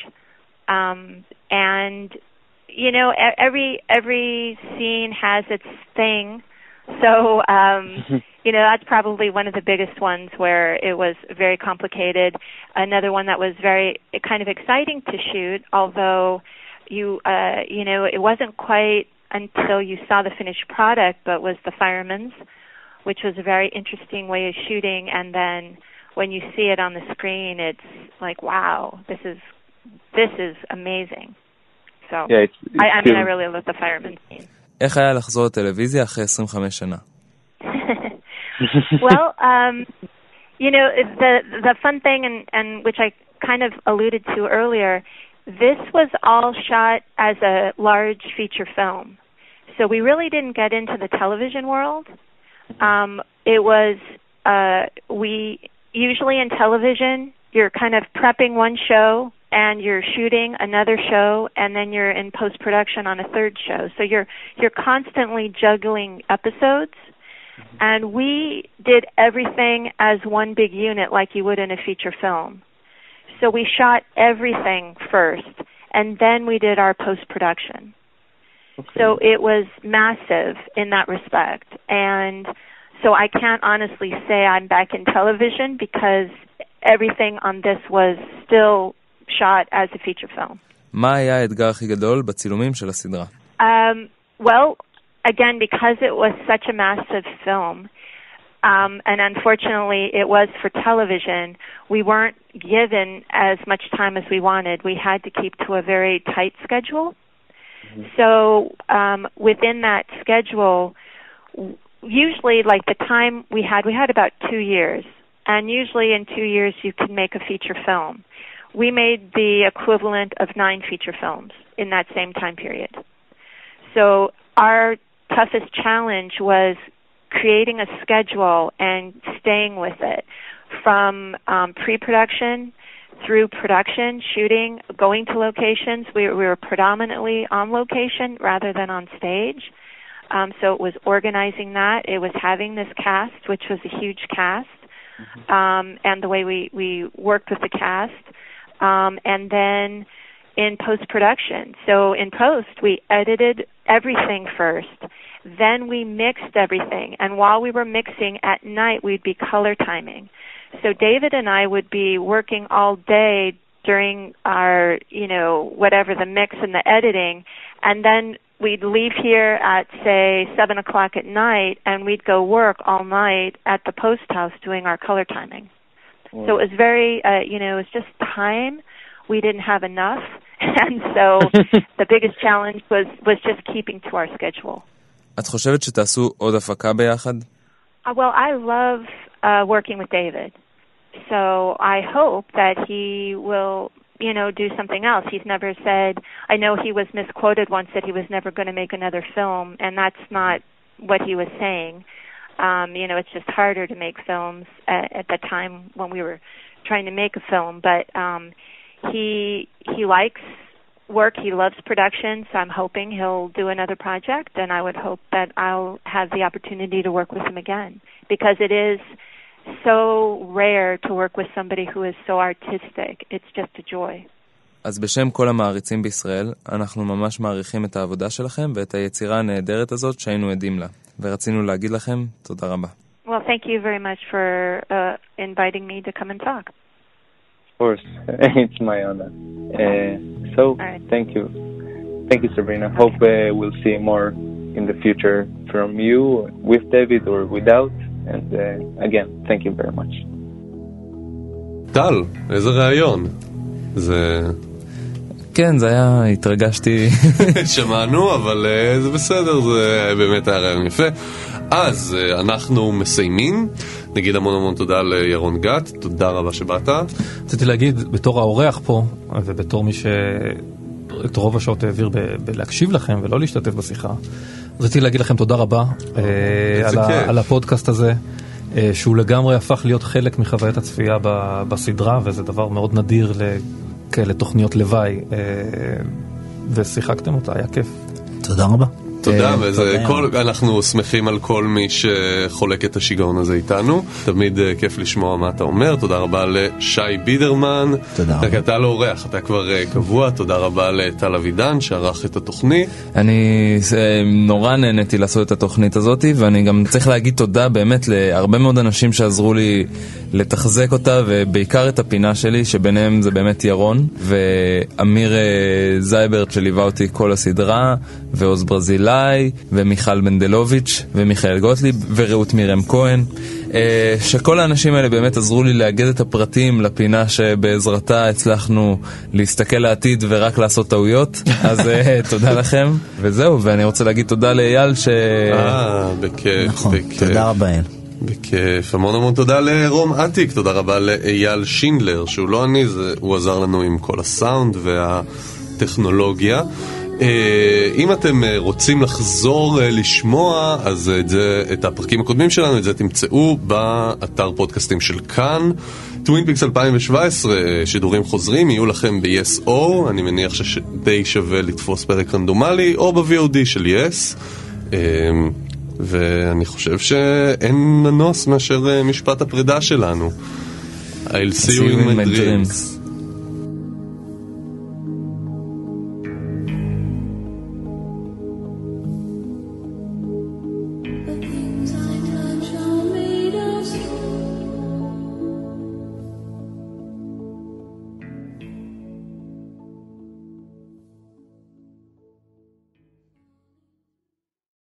[SPEAKER 5] Um, and, you know, every every scene has its thing. So, um, you know, that's probably one of the biggest ones where it was very complicated. Another one that was very kind of exciting to shoot, although you, uh, you know, it wasn't quite until you saw the finished product, but was the Fireman's, which was a very interesting way of shooting. And then when you see it on the screen, it's like, wow, this is this is amazing. So,
[SPEAKER 7] yeah, it's, it's
[SPEAKER 5] I, I mean, I really love the Fireman's scene.
[SPEAKER 4] איך היה לחזור לטלוויזיה אחרי עשרים וחמש שנה?
[SPEAKER 5] Well, um, you know, the the fun thing, and, and which I kind of alluded to earlier, this was all shot as a large feature film. So we really didn't get into the television world. Um, it was, uh, we, usually in television, you're kind of prepping one show, and you're shooting another show, and then you're in post-production on a third show. So you're you're constantly juggling episodes, mm-hmm. and we did everything as one big unit like you would in a feature film. So we shot everything first, and then we did our post-production. Okay. So it was massive in that respect. And so I can't honestly say I'm back in television because everything on this was still shot as a feature film.
[SPEAKER 4] מה היה האתגר הכי גדול בצילומים של הסדרה?
[SPEAKER 5] Um, well, again, because it was such a massive film, Um, and unfortunately, it was for television. We weren't given as much time as we wanted. We had to keep to a very tight schedule. Mm-hmm. So um, within that schedule, usually like the time we had, we had about two years. And usually in two years you can make a feature film. We made the equivalent of nine feature films in that same time period. So our toughest challenge was creating a schedule and staying with it from um, pre-production through production, shooting, going to locations. We, we were predominantly on location rather than on stage. Um, so it was organizing that. It was having this cast, which was a huge cast, mm-hmm. um, and the way we, we worked with the cast. Um, and then in post-production. So in post, we edited everything first. Then we mixed everything. And while we were mixing at night, we'd be color timing. So David and I would be working all day during our, you know, whatever, the mix and the editing. And then we'd leave here at, say, seven o'clock at night, and we'd go work all night at the post house doing our color timing. Wow. So it was very, uh, you know, it was just time. We didn't have enough. And so the biggest challenge was, was just keeping to our schedule.
[SPEAKER 4] את חושבת שתעשו עוד הפקה ביחד?
[SPEAKER 5] Uh, well, I love uh, working with David. So I hope that he will, you know, do something else. He's never said, I know he was misquoted once that he was never going to make another film, and that's not what he was saying. Um, you know, it's just harder to make films at, at the time when we were trying to make a film. But um, he he likes work. He loves production, so I'm hoping he'll do another project, and I would hope that I'll have the opportunity to work with him again, because it is so rare to work with somebody who is so artistic. It's just a joy.
[SPEAKER 4] אז בשם כל המעריצים בישראל, אנחנו ממש מעריכים את העבודה שלכם ואת היצירה הנהדרת הזאת שהיינו עדים לה. ורצינו להגיד לכם תודה רבה.
[SPEAKER 5] Well, thank you very much for uh, inviting me to come and talk.
[SPEAKER 7] Of course, it's my honor. Uh, so, right. thank you. Thank you, Sabrina. Hope uh, we'll see more in the future from you, with David or without. And uh, again, thank you very much.
[SPEAKER 2] טל, איזה רעיון. זה...
[SPEAKER 4] כן, זה היה, התרגשתי.
[SPEAKER 2] שמענו, אבל uh, זה בסדר, זה באמת היה רעיון יפה. אז uh, אנחנו מסיימים. נגיד המון המון תודה לירון גת, תודה רבה שבאת.
[SPEAKER 6] רציתי להגיד, בתור האורח פה, ובתור מי שאת רוב השעות העביר ב- בלהקשיב לכם ולא להשתתף בשיחה, רציתי להגיד לכם תודה רבה אה, על, ה- על הפודקאסט הזה, אה, שהוא לגמרי הפך להיות חלק מחוויית הצפייה ב- בסדרה, וזה דבר מאוד נדיר לכאלה תוכניות לוואי, אה, ושיחקתם אותה, היה כיף.
[SPEAKER 3] תודה רבה.
[SPEAKER 2] תודה, וזה כל, אנחנו שמחים על כל מי שחולק את השיגעון הזה איתנו. תמיד כיף לשמוע מה אתה אומר. תודה רבה לשי בידרמן.
[SPEAKER 3] תודה רבה.
[SPEAKER 2] אתה לא אורח, אתה כבר קבוע. תודה רבה לטל אבידן שערך את התוכנית.
[SPEAKER 4] אני נורא נהניתי לעשות את התוכנית הזאת, ואני גם צריך להגיד תודה באמת להרבה מאוד אנשים שעזרו לי לתחזק אותה, ובעיקר את הפינה שלי, שביניהם זה באמת ירון, ואמיר זייברט שליווה אותי כל הסדרה, ועוז ברזילי, ומיכל בנדלוביץ' ומיכאל גוטליב ורעות מירם כהן, שכל האנשים האלה באמת עזרו לי לאגד את הפרטים לפינה שבעזרתה הצלחנו להסתכל לעתיד ורק לעשות טעויות. אז תודה לכם, וזהו. ואני רוצה להגיד תודה לאייל ש...
[SPEAKER 2] אה, בכיף.
[SPEAKER 3] נכון, תודה רבה אייל.
[SPEAKER 2] בכיף, המון המון תודה לרום עתיק, תודה רבה לאייל שינדלר, שהוא לא אני, זה, הוא עזר לנו עם כל הסאונד והטכנולוגיה. אם אתם רוצים לחזור לשמוע, אז את, זה, את הפרקים הקודמים שלנו, את זה תמצאו באתר פודקאסטים של כאן. טווין פיקס אלפיים שבע עשרה שידורים חוזרים יהיו לכם ב-יס או, אני מניח שדי שווה לתפוס פרק רנדומלי, או ב-וי או די של יס. ואני חושב שאין מנוס מאשר משפט הפרידה שלנו. I'll see you in my dreams.